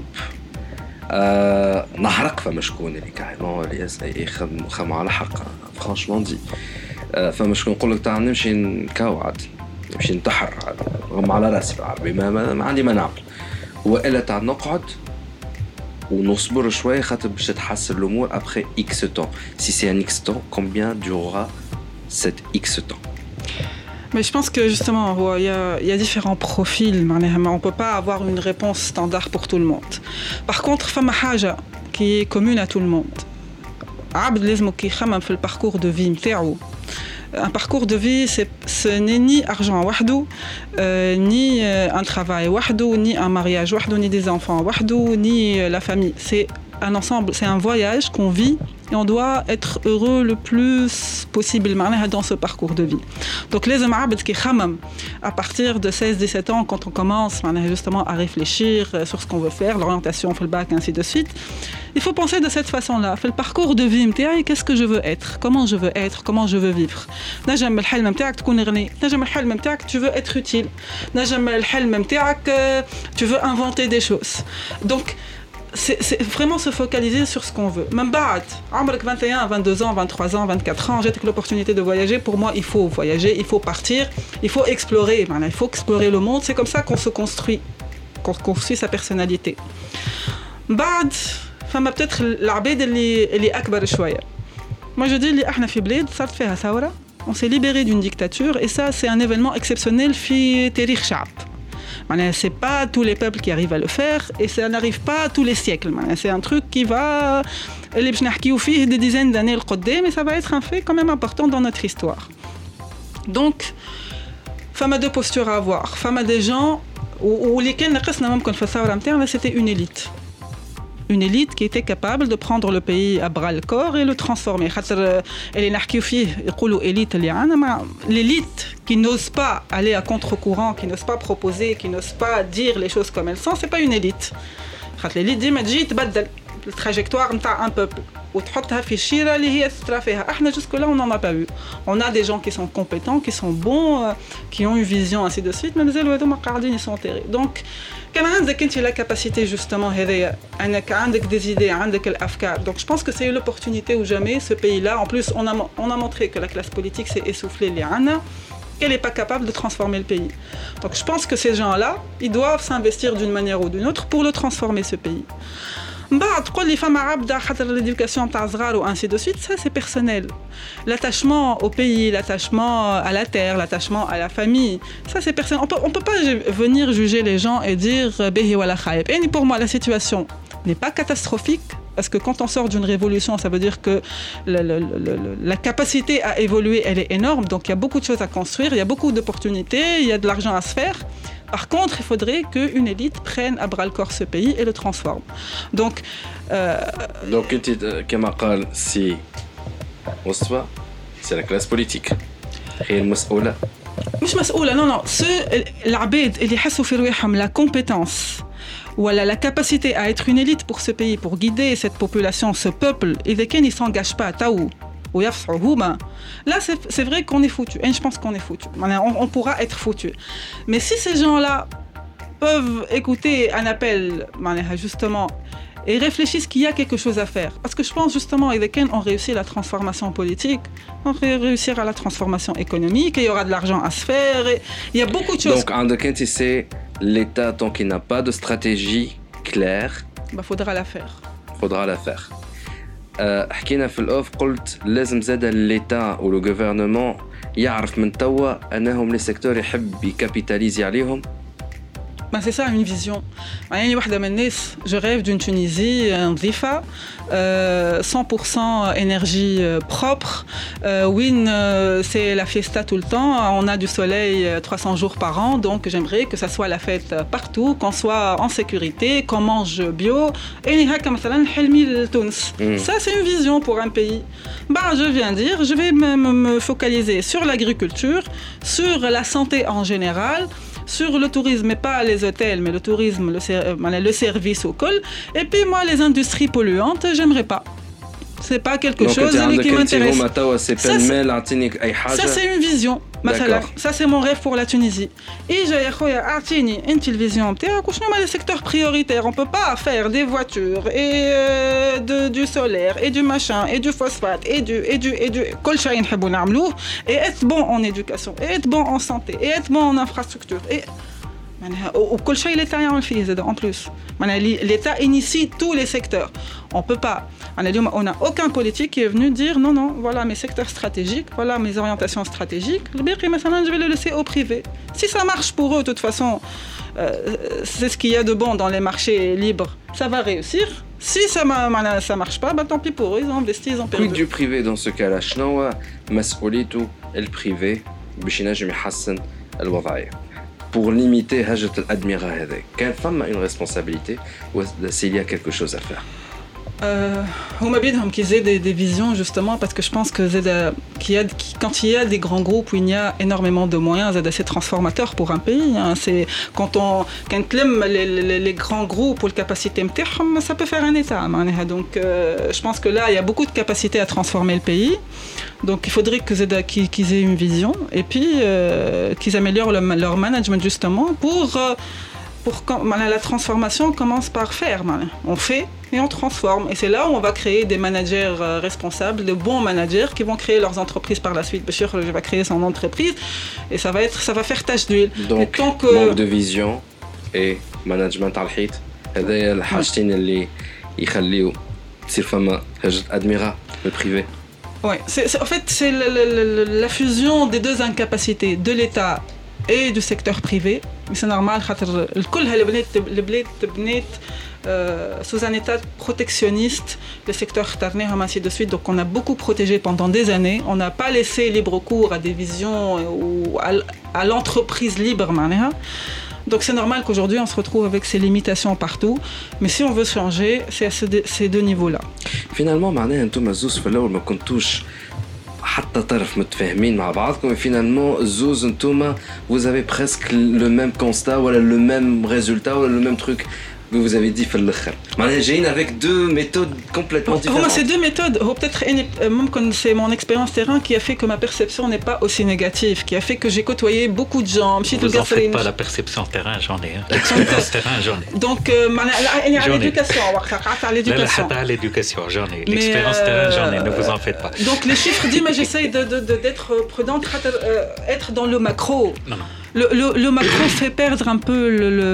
نحرق فما شكون اللي كاريمون اللي يخدم على حق فرانشمون دي. فما شكون نقول لك تاع نمشي نكوعد نمشي نتحر غم على راسي بالعربي ما عندي ما نعمل. والا تاع نقعد ونصبر شويه خاطر باش تتحسن الامور après X temps. Si c'est un X temps, combien durera cet X temps? Mais je pense que justement, il y a différents profils. On ne peut pas avoir une réponse standard pour tout le monde. Par contre, fama haja qui est commune à tout le monde. عبد لازم كي يخمم في الباركور دو في نتاعو. Un parcours de vie, ce n'est ni argent wahdo, ni un travail wahdo, ni un mariage wahdo, ni des enfants wahdo, ni la famille. C'est un ensemble, c'est un voyage qu'on vit et on doit être heureux le plus possible dans ce parcours de vie. Donc les hommes qui khamam à partir de 16-17 ans, quand on commence justement à réfléchir sur ce qu'on veut faire, l'orientation, le bac, ainsi de suite, il faut penser de cette façon-là. Fait le parcours de vie, qu'est-ce que je veux être, comment je veux être, comment je veux vivre. نجم الحلم نتاعك تكون غني، نجم الحلم نتاعك tu veux être utile، نجم الحلم نتاعك tu veux inventer des choses. Donc c'est vraiment se focaliser sur ce qu'on veut. Même بعد عمرك 21, 22 ans, 23 ans, 24 ans, j'ai l'opportunité de voyager. Pour moi, il faut voyager, il faut partir, il faut explorer. Il faut explorer le monde. C'est comme ça qu'on se construit, qu'on construit sa personnalité. بعد فما peut-être العباد اللي أكبر شوية. Moi je dis اللي احنا في بلاد صارت فيها ثورة. On s'est libéré d'une dictature et ça c'est un événement exceptionnel في تاريخ شعب. C'est pas tous les peuples qui arrivent à le faire et ça n'arrive pas tous les siècles. C'est un truc qui va des dizaines d'années le côté, mais ça va être un fait quand même important dans notre histoire. Donc, femme a deux postures à avoir. Femme a des gens où lesquels c'était une élite. Une élite qui était capable de prendre le pays à bras le corps et le transformer. L'élite qui n'ose pas aller à contre-courant, qui n'ose pas proposer, qui n'ose pas dire les choses comme elles sont, c'est pas une élite. L'élite dit la trajectoire d'un peuple. Jusque-là, on n'en a pas vu. On a des gens qui sont compétents, qui sont bons, qui ont une vision, ainsi de suite, mais ils sont enterrés. Donc, quand tu as la capacité justement, des idées, donc je pense que c'est l'opportunité ou jamais, ce pays-là. En plus, on a montré que la classe politique s'est essoufflée, qu'elle n'est pas capable de transformer le pays. Donc je pense que ces gens-là, ils doivent s'investir d'une manière ou d'une autre pour le transformer, ce pays. تقول لي فما عبده خاطر l'éducation تاع صغار ou ainsi de suite, ça c'est personnel. L'attachement au pays, l'attachement à la terre, l'attachement à la famille, ça c'est personnel. On peut pas venir juger les gens et dire behi wala khaib. Et pour moi la situation n'est pas catastrophique parce que quand on sort d'une révolution, ça veut dire que la capacité à évoluer, elle est énorme. Donc il y a beaucoup de choses à construire, il y a beaucoup d'opportunités, il y a de l'argent à se faire. Par contre, il faudrait qu'une élite prenne à bras le corps ce pays et le transforme. Donc, كما قال سي مصطفى, c'est la classe politique. هي المسؤولة. مش مسؤولة, non. العباد اللي يحسوا في رواحهم la compétence ou la capacité à être une élite pour ce pays, pour guider cette population, ce peuple, et desquels ils ne s'engagent pas à taou. Là, c'est vrai qu'on est foutu. Et je pense qu'on est foutu. On pourra être foutu. Mais si ces gens-là peuvent écouter un appel, justement, et réfléchissent qu'il y a quelque chose à faire. Parce que je pense justement, avec lesquels on réussit la transformation politique, on réussira la transformation économique, et il y aura de l'argent à se faire. Et il y a beaucoup de choses. Donc, en Kent, c'est l'État, tant qu'il n'a pas de stratégie claire, faudra la faire. Faudra la faire. حكينا في الأوف قلت لازم زاد الليتا و لو غوفرنمون يعرف من توا أنهم لي سيكتور يحب يكابيتاليزي عليهم. C'est ça une vision. Je rêve d'une Tunisie nzifa, 100% énergie propre. C'est la fiesta tout le temps. On a du soleil 300 jours par an, donc j'aimerais que ça soit la fête partout, qu'on soit en sécurité, qu'on mange bio. Ça, c'est une vision pour un pays. Je viens dire, je vais me focaliser sur l'agriculture, sur la santé en général, sur le tourisme, mais pas les hôtels, mais le tourisme, le service au col. Et puis moi, les industries polluantes, j'aimerais pas. C'est pas quelque chose qui m'intéresse. Ça, c'est une vision. Ça, c'est mon rêve pour la Tunisie. Et j'ai une vision. Les secteurs prioritaires, on peut pas faire des voitures et du solaire et du machin et du phosphate et du et être bon en éducation et être bon en santé et être bon en infrastructure. وكل شيء l'État يعمل فيه زاد en plus. L'État initie tous les secteurs. On peut pas. On n'a aucun politique qui est venu dire non, voilà mes secteurs stratégiques, voilà mes orientations stratégiques. Le bien je vais le laisser au privé. Si ça marche pour eux, de toute façon, c'est ce qu'il y a de bon dans les marchés libres. Ça va réussir. Si ça marche pas, tant pis pour eux, ils ont investi, ils ont perdu. Quid du privé dans ce cas-là? شنو مسؤوليته البريفي باش ينجم يحسن الوضعية pour limiter هجرة الأدمغة هذه؟ كان فما une responsabilité ou s'il y a quelque chose à faire? هما بيدهم qu'ils aient des visions justement parce que je pense que quand il y a des grands groupes où il y a énormément de moyens c'est assez transformateur pour un pays hein. C'est quand les grands groupes ou les capacités ça peut faire un état donc je pense que là il y a beaucoup de capacités à transformer le pays donc il faudrait qu'ils aient une vision et puis qu'ils améliorent leur management justement pour la transformation commence par faire. On fait et on transforme. Et c'est là où on va créer des managers responsables, de bons managers qui vont créer leurs entreprises par la suite. Bachir va créer son entreprise et ça va faire tache d'huile. Donc, manque de vision et management على الحيط. هذا الحاجتين اللي يخليو تصير فما هجرة أدمغة بالprivé. Oui, en fait, c'est la fusion des deux incapacités, de l'État et du secteur privé. Mais c'est normal, le bled تبنيت sous un état protectionniste, le secteur tarnéham ainsi de suite. Donc on a beaucoup protégé pendant des années. On n'a pas laissé libre cours à des visions ou à l'entreprise libre. Donc c'est normal qu'aujourd'hui on se retrouve avec ces limitations partout. Mais si on veut changer, c'est à ces deux niveaux-là. Finalement, معناها انتم الزوز في الأول ما كنتوش حتى طرف متفاهمين مع بعضكم finalement زوز انتوما vous avez presque le même constat ولا le même résultat ولا le même truc que vous avez dit في الآخر. معناها جايين avec deux méthodes complètement différentes. C'est deux méthodes. Peut-être même c'est mon expérience terrain qui a fait que ma perception n'est pas aussi négative, qui a fait que j'ai côtoyé beaucoup de gens. Vous en faites pas la perception terrain, j'en ai. L'expérience terrain, j'en ai. Donc l'éducation, à l'éducation, j'en ai. L'expérience terrain, j'en ai. Ne vous en faites pas. Donc les chiffres disent, mais j'essaye d'être prudente, être dans le macro. Non. Le macro fait perdre un peu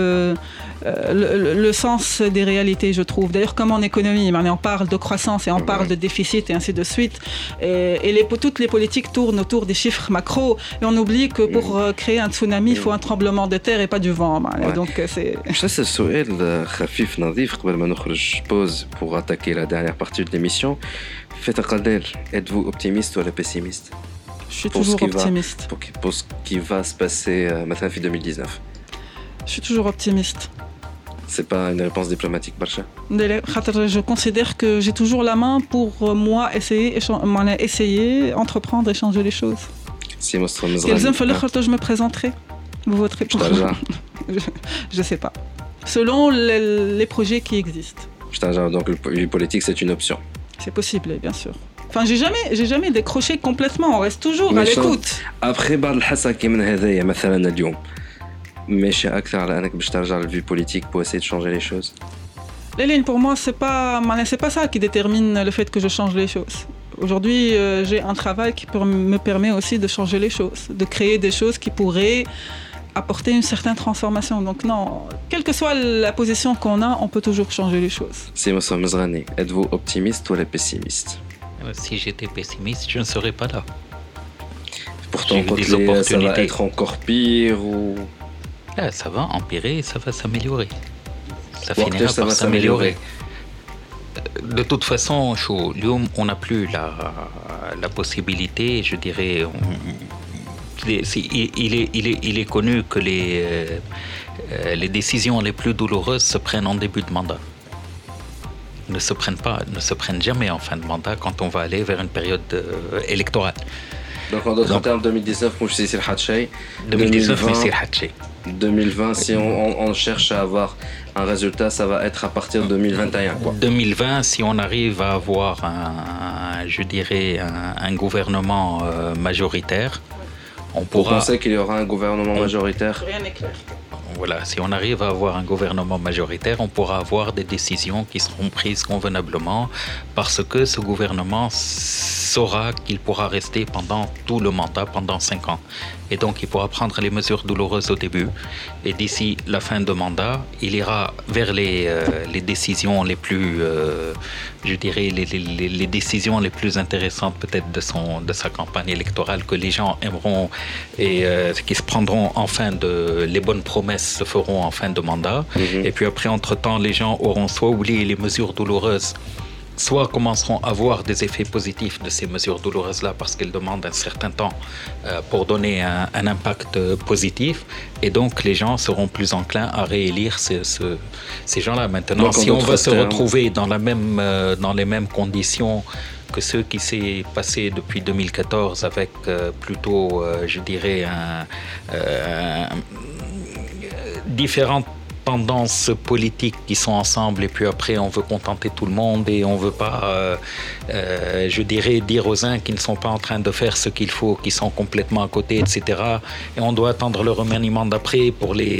le sens des réalités, je trouve. D'ailleurs, comme en économie, on parle de croissance et on parle de déficit et ainsi de suite. Et toutes les politiques tournent autour des chiffres macro. Et on oublie que pour créer un tsunami, il faut un tremblement de terre et pas du vent. Donc, c'est... Ça, c'est un سؤال خفيف نظيف قبل ما نخرج pause pour attaquer la dernière partie de l'émission. Faites قدر, êtes-vous optimiste ou pessimiste? Je suis toujours optimiste. Pour ce qui va se passer maintenant en 2019. Je suis toujours optimiste. C'est pas une réponse diplomatique, Barcha? Je considère que j'ai toujours la main pour moi essayer, entreprendre et changer les choses. Si je me présenterai. Vous voterez pour moi. Je sais pas. Selon les projets qui existent. Donc le politique, c'est une option. C'est possible, bien sûr. Enfin, j'ai jamais décroché complètement. On reste toujours à l'écoute. Après, بعض الحسكة من هذايا مثلا اليوم. ماشي أكثر على أنك باش ترجع للفي politique pour essayer de changer les choses. Léline, pour moi, c'est pas ça qui détermine le fait que je change les choses. Aujourd'hui, j'ai un travail qui me permet aussi de changer les choses, de créer des choses qui pourraient apporter une certaine transformation. Donc non, quelle que soit la position qu'on a, on peut toujours changer les choses. Si Moussa Mezrani, êtes-vous optimiste ou pessimiste? Si j'étais pessimiste, je ne serais pas là. Pourtant, ça va être encore pire ou... Ça va empirer, ça va s'améliorer. Ça finira par s'améliorer. De toute façon, on n'a plus la possibilité, je dirais... Il est connu que les décisions les plus douloureuses se prennent en début de mandat. Ne se prennent jamais en fin de mandat quand on va aller vers une période électorale. Donc en d'autres termes, 2019, moi je sais c'est le 2020, si on cherche à avoir un résultat, ça va être à partir de 2021. Quoi. 2020, si on arrive à avoir un gouvernement majoritaire, on pourra... Vous pensez qu'il y aura un gouvernement majoritaire? Rien n'est clair. Voilà, si on arrive à avoir un gouvernement majoritaire, on pourra avoir des décisions qui seront prises convenablement parce que ce gouvernement saura qu'il pourra rester pendant tout le mandat, pendant 5 ans. Et donc, il pourra prendre les mesures douloureuses au début. Et d'ici la fin de mandat, il ira vers les décisions les plus, je dirais, les décisions les plus intéressantes peut-être de sa campagne électorale que les gens aimeront et qui se prendront en fin de... Les bonnes promesses se feront en fin de mandat. Et puis après, entre-temps, les gens auront soit oublié les mesures douloureuses, soit commenceront à voir des effets positifs de ces mesures douloureuses-là parce qu'elles demandent un certain temps pour donner un impact positif. Et donc, les gens seront plus enclins à réélire ces gens-là. Maintenant, donc, si on va se retrouver dans les mêmes conditions que ceux qui s'est passé depuis 2014 avec plutôt, je dirais, différentes tendances politiques qui sont ensemble et puis après on veut contenter tout le monde et on veut pas je dirais dire aux uns qui ne sont pas en train de faire ce qu'il faut, qui sont complètement à côté, etc. Et on doit attendre le remaniement d'après pour les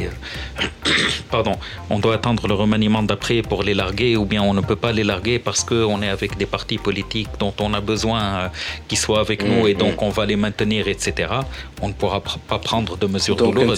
on doit attendre le remaniement d'après pour les larguer, ou bien on ne peut pas les larguer parce qu'on est avec des partis politiques dont on a besoin qu'ils soient avec nous et donc on va les maintenir, etc. On ne pourra pas prendre de mesures douloureuses.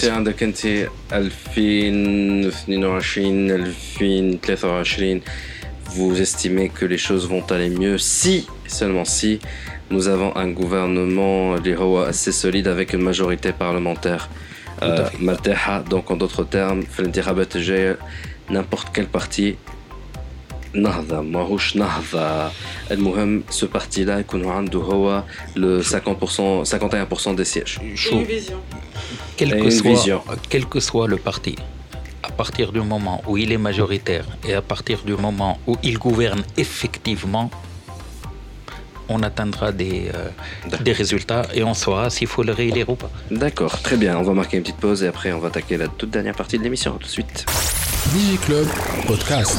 Vous estimez que les choses vont aller mieux si, seulement si, nous avons un gouvernement assez solide avec une majorité parlementaire مرتاحة. Donc en d'autres termes, في الانتخابات الجاية n'importe quel parti نهضة ماهوش نهضة، المهم ce parti-là يكون عنده هو le 51% des sièges. Une vision. Quel que soit le parti, à partir du moment où il est majoritaire et à partir du moment où il gouverne effectivement, on atteindra des résultats et on saura s'il faut le réélire ou pas. D'accord, très bien. On va marquer une petite pause et après on va attaquer la toute dernière partie de l'émission. Tout de suite. DigiClub Podcast.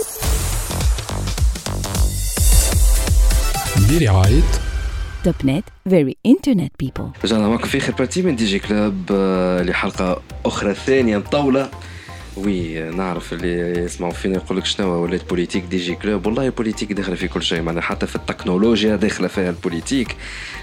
برعاية توب نت very internet people. رجعنا معكم في آخر بارتي من دي جي كلوب لحلقة أخرى ثانية مطولة. وي نعرف اللي يسمعوا فينا يقول لك شنو ولات بوليتيك دي جي كلوب. والله البوليتيك داخله في كل شيء، معنا حتى في التكنولوجيا داخله فيها البوليتيك.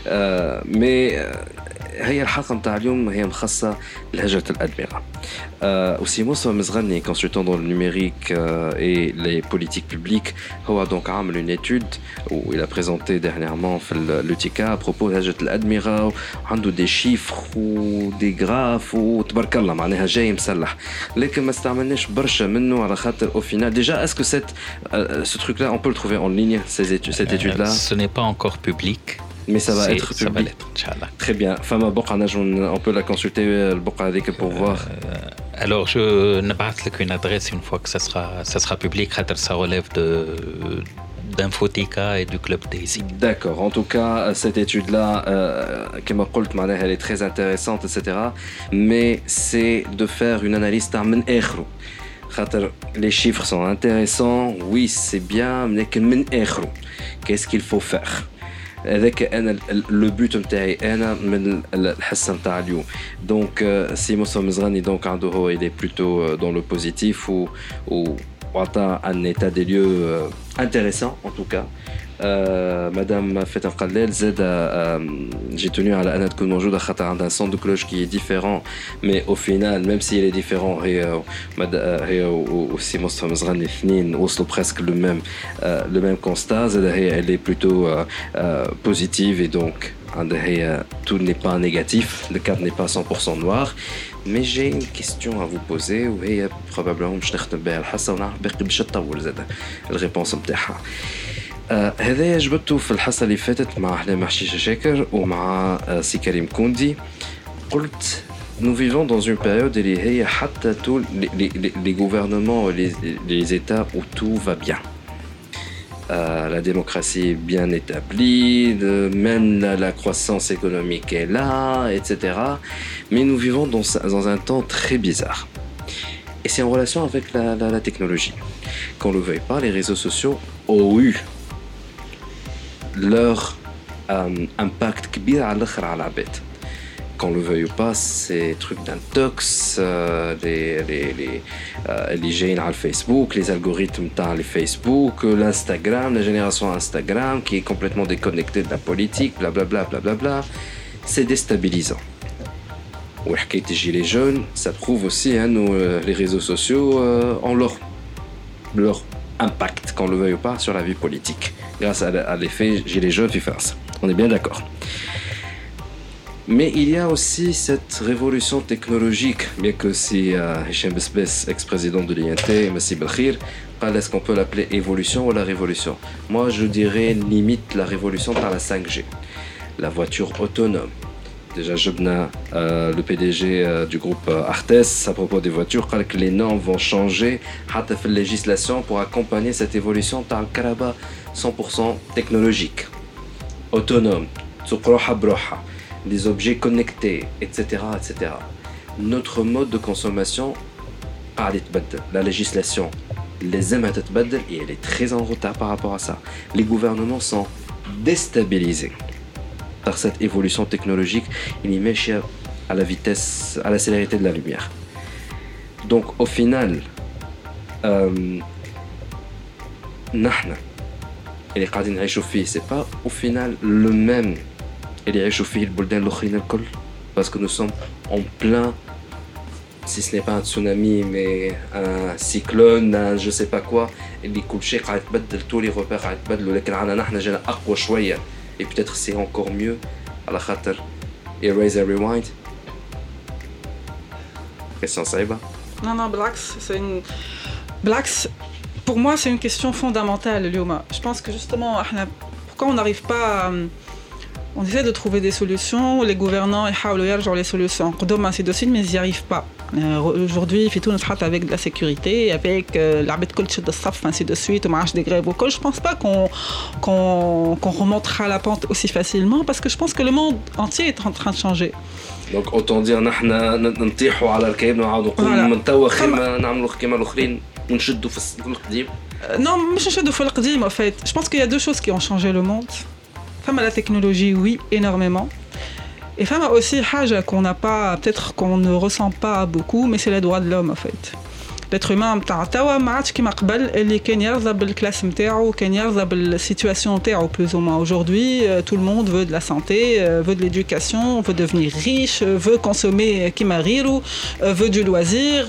مي هي الحلقه نتاع اليوم هي مخصصه لهجره الادمغه. وسي موسى مزغني كونسلتون دون النيميريك اي لي بوليتيك بوبليك هو دونك عامل اون ايتود و il a présenté dernièrement في لوتيكا ابروبو هجره الادمغه، وعنده دي شيفر ودي غراف وتبارك الله معناها جاي مسلح. لكن ما استعملناش برشا منه على خاطر au final déjà est-ce que ce truc là on peut le trouver en ligne cette étude là? Ce n'est pas encore public. Mais ça va être public. Ça va l'être, Inch'Allah. Très bien. Fama Boqa, on peut la consulter le Boqa avec pour voir. Alors je n'abatte qu'une adresse une fois que ça sera public. Ça relève d'Infotica et du Club Daisy. D'accord. En tout cas, cette étude-là, comme je l'ai dit, elle est très intéressante, etc. Mais c'est de faire une analyse من آخره. Les chiffres sont intéressants. Oui, c'est bien, mais من آخره. Qu'est-ce qu'il faut faire? هذاك انا لو بوت نتاعي انا من الحصه نتاع اليوم. دونك سي موسى مزغني دونك عنده هو il est plutôt dans le positif ou وعطى un état des lieux intéressant en tout cas. Madame Fatin Khalel زاد j'ai tenu على أنها تكون موجودة خاطر عندها un son de cloche qui est différent, mais au final même s'il est différent هي وسي موسى مزغني اثنين وصلوا presque le même constat. زاد هي elle est plutôt positive et donc tout n'est pas négatif, le cadre n'est pas 100% noir. Mais j'ai une question à vous poser وهي probablement مش نختم بها الحصة ونعرف باقي باش تطول زاد الريبونس نتاعها. هذا جبته في الحصة اللي فاتت مع أحلام حشيشة شاكر ومع سي كريم كوندي. قلت nous vivons dans une période où il y a حتى tous les gouvernements et les États où tout va bien. La démocratie est bien établie, même la croissance économique est là, etc. Mais nous vivons dans un temps très bizarre. Et c'est en relation avec la technologie. Qu'on ne le veuille pas, les réseaux sociaux ont eu leur impact كبير على الآخر على العباد. qu'on le veuille ou pas, ces trucs d'intox, les gènes à Facebook, les algorithmes dans les Facebook, l'Instagram, la génération Instagram qui est complètement déconnectée de la politique, blablabla, blablabla, c'est déstabilisant. Ou les gilets jaunes, ça prouve aussi hein, les réseaux sociaux ont leur impact, qu'on le veuille ou pas, sur la vie politique, grâce à l'effet gilets jaunes qui fait ça. On est bien d'accord. Mais il y a aussi cette révolution technologique, bien que si Hicham Besbes, ex-président de l'INT, Messi Belkhir, est-ce qu'on peut l'appeler évolution ou la révolution? Moi, je dirais limite la révolution par la 5G. La voiture autonome. Déjà, Jobna, le PDG du groupe Artes, à propos des voitures, dit que les normes vont changer à la législation pour accompagner cette évolution par le Karaba 100% technologique, autonome, des objets connectés, etc., etc. Notre mode de consommation, la législation, les aime à et elle est très en retard par rapport à ça. Les gouvernements sont déstabilisés par cette évolution technologique, il y met à la vitesse, à la célérité de la lumière. Donc au final, نحن اللي قاعدين نعيشوا فيه c'est pas au final le même اللي يعيشوا فيه البلدان الآخرين الكل, parce que nous sommes en plein, si ce n'est pas un tsunami mais un cyclone, un je sais pas quoi, اللي كل شيء قاعد يتبدل, tous les repères قاعد يتبدلوا, لكن عنا نحن جانا أقوى شوية. Et peut-être c'est encore mieux à la khater erase and rewind. Question Saïba. Non, Blax, pour moi c'est une question fondamentale, Lyoma. Je pense que justement, pourquoi on n'arrive pas à, on essaie de trouver des solutions, les gouvernants ils genre les solutions, ainsi de suite, mais ils n'y arrivent pas. Aujourd'hui, il fait tout notre hâte avec de la sécurité, avec l'arbitre coach de staff, ainsi de suite, on marche des grèves au col. Je pense pas qu'on remontera la pente aussi facilement, parce que je pense que le monde entier est en train de changer. Donc autant dire, nous نطيحوا على الكيب ونقولوا من توا خير ما نعملوا كيما الآخرين ونشدوا في القديم. Non, مش نشدوا في القديم en fait. Je pense qu'il y a deux choses qui ont changé le monde. Femme à la technologie, oui, énormément. Et femme a aussi haja qu'on n'a pas, peut-être qu'on ne ressent pas beaucoup, mais c'est les droits de l'homme en fait. L'être humain متاع توا ما عادش كيما قبل اللي كان يرضى بالكلاس نتاعو, كان يرضى بالسيتواسيون نتاعو plus ou moins. Aujourd'hui, tout le monde veut de la santé, veut de l'éducation, veut devenir riche, veut consommer كيما غيرو, veut du loisir.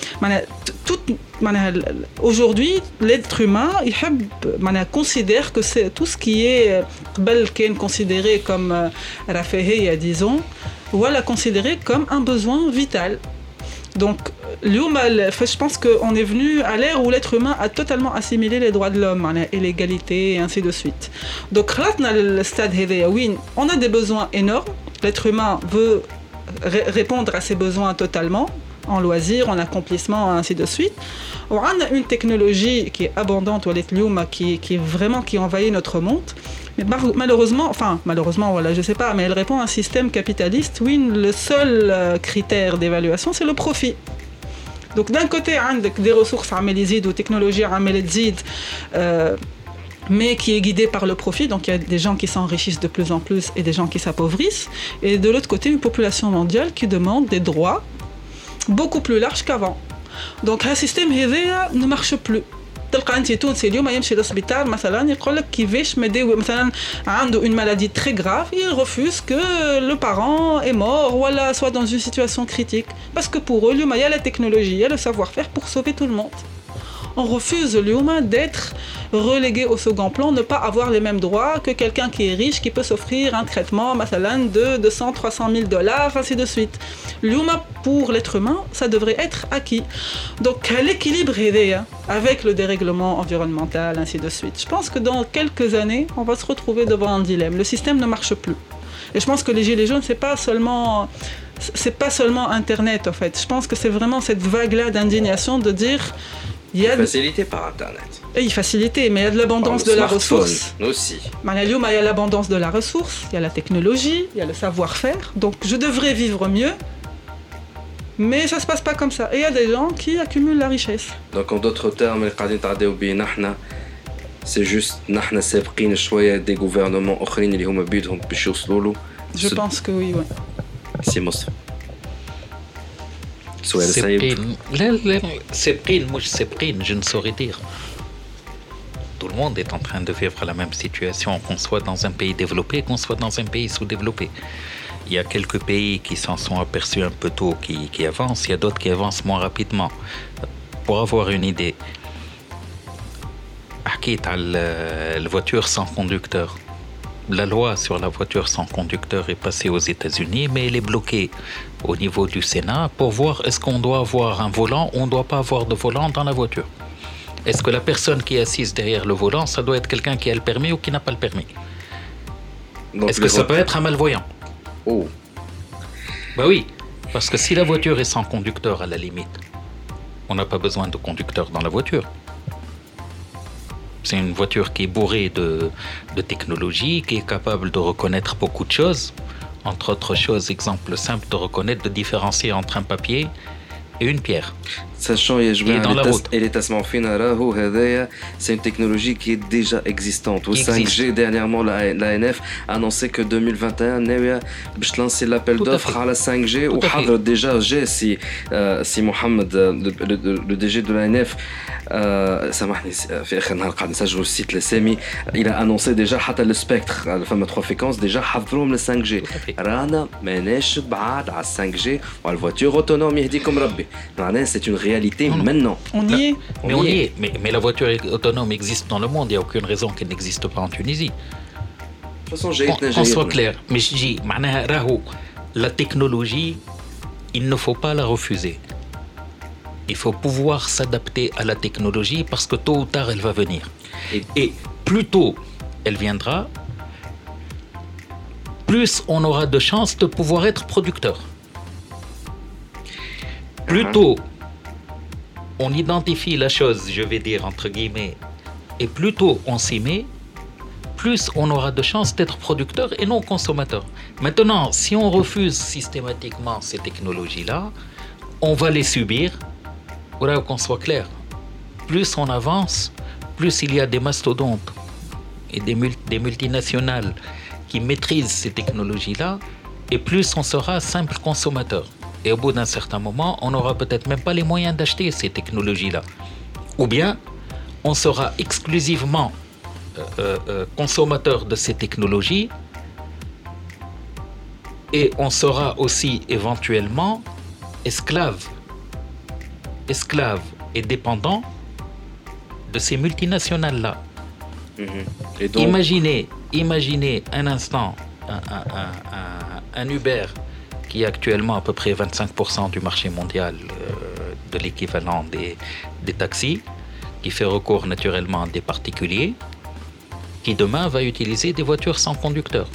Aujourd'hui, l'être humain, il considère que c'est tout ce qui est considéré comme rafahiyya, disons, ou la considéré comme un besoin vital. Donc, je pense qu'on est venu à l'ère où l'être humain a totalement assimilé les droits de l'homme et l'égalité et ainsi de suite. Donc, on a des besoins énormes. L'être humain veut répondre à ses besoins totalement, en loisirs, en accomplissement, ainsi de suite. On a une technologie qui est abondante, qui envahit notre monde. Mais malheureusement, voilà, je sais pas, mais elle répond à un système capitaliste où le seul critère d'évaluation, c'est le profit. Donc d'un côté, on a des ressources ou technologies mais qui est guidée par le profit, donc il y a des gens qui s'enrichissent de plus en plus et des gens qui s'appauvrissent. Et de l'autre côté, une population mondiale qui demande des droits beaucoup plus larges qu'avant. Donc un système ne marche plus. تلقى انت تونسي اليوم يمشي للسبيطار مثلا يقول لك كيفاش مداوي مثلا عنده une maladie très grave, il refuse que le parent est mort ou soit dans une situation critique, parce que pour eux اليوم il y a la technologie, il y a le savoir-faire pour sauver tout le monde. On refuse l'humain d'être relégué au second plan, ne pas avoir les mêmes droits que quelqu'un qui est riche, qui peut s'offrir un traitement de 200, 300 000 $, ainsi de suite. L'humain, pour l'être humain, ça devrait être acquis. Donc l'équilibre est avec le dérèglement environnemental, ainsi de suite. Je pense que dans quelques années, on va se retrouver devant un dilemme. Le système ne marche plus. Et je pense que les gilets jaunes, c'est pas seulement Internet, en fait. Je pense que c'est vraiment cette vague-là d'indignation de dire... Il y a facilité par Internet. Oui, facilité, mais il y a de l'abondance de la ressource. Aussi. Il y a l'abondance de la ressource, il y a la technologie, il y a le savoir-faire. Donc je devrais vivre mieux, mais ça se passe pas comme ça. Et il y a des gens qui accumulent la richesse. Donc en d'autres termes, c'est juste نحن سابقين شوية des gouvernements آخرين اللي هما بيدهم باش يوصلوا له. Je pense que oui, ouais. سي مصطفى سؤال صعيب. لا سابقين مش سابقين je ne saurais dire. Tout le monde est en train de vivre la même situation, qu'on soit dans un pays développé, qu'on soit dans un pays sous-développé. Il y a quelques pays qui s'en sont aperçus un peu tôt, qui avancent, il y a d'autres qui avancent moins rapidement. Pour avoir une idée, حكيت على la voiture sans conducteur. La loi sur la voiture sans conducteur est passée aux États-Unis, mais elle est bloquée au niveau du Sénat pour voir est-ce qu'on doit avoir un volant ou on ne doit pas avoir de volant dans la voiture. Est-ce que la personne qui est assise derrière le volant, ça doit être quelqu'un qui a le permis ou qui n'a pas le permis? Donc est-ce que ça peut être un malvoyant? Oh. Bah oui, parce que si la voiture est sans conducteur à la limite, on n'a pas besoin de conducteur dans la voiture. C'est une voiture qui est bourrée de technologie, qui est capable de reconnaître beaucoup de choses. Entre autres choses, exemple simple de reconnaître, de différencier entre un papier et une pierre. Sachant يا جماعة اللي تسمعوا فينا راهو هذايا c'est une technologie qui est déjà existante. Au 5G dernièrement la ANF a annoncé que 2021 ناوية باش lancer l'appel d'offres على 5G وحضر déjà جا سي محمد le DG de la ANF سامحني في اخر نهار قاعد نسجلوا السيت لسامي il a annoncé déjà حتى السبيكتر فما 3 فيكونس déjà حضروهم ل 5G. رانا ماناش بعاد على 5G وعلى الفواتور اوتونوم يهديكم ربي. معناها c'est une réalité maintenant. On y est. Mais la voiture autonome existe dans le monde, il n'y a aucune raison qu'elle n'existe pas en Tunisie. De toute façon, qu'on soit clair. Mais je dis, la technologie, il ne faut pas la refuser. Il faut pouvoir s'adapter à la technologie parce que tôt ou tard, elle va venir. Et plus tôt elle viendra, plus on aura de chances de pouvoir être producteur. Plus tôt on identifie la chose, je vais dire entre guillemets, et plus tôt on s'y met, plus on aura de chances d'être producteur et non consommateur. Maintenant, si on refuse systématiquement ces technologies-là, on va les subir. Voilà, qu'on soit clair. Plus on avance, plus il y a des mastodontes et des multinationales qui maîtrisent ces technologies-là, et plus on sera simple consommateur. Et au bout d'un certain moment, on n'aura peut-être même pas les moyens d'acheter ces technologies-là. Ou bien, on sera exclusivement consommateur de ces technologies et on sera aussi éventuellement esclave et dépendant de ces multinationales-là. Et donc... Imaginez un instant un Uber qui est actuellement à peu près 25% du marché mondial de l'équivalent des taxis, qui fait recours naturellement à des particuliers, qui demain va utiliser des voitures sans conducteur.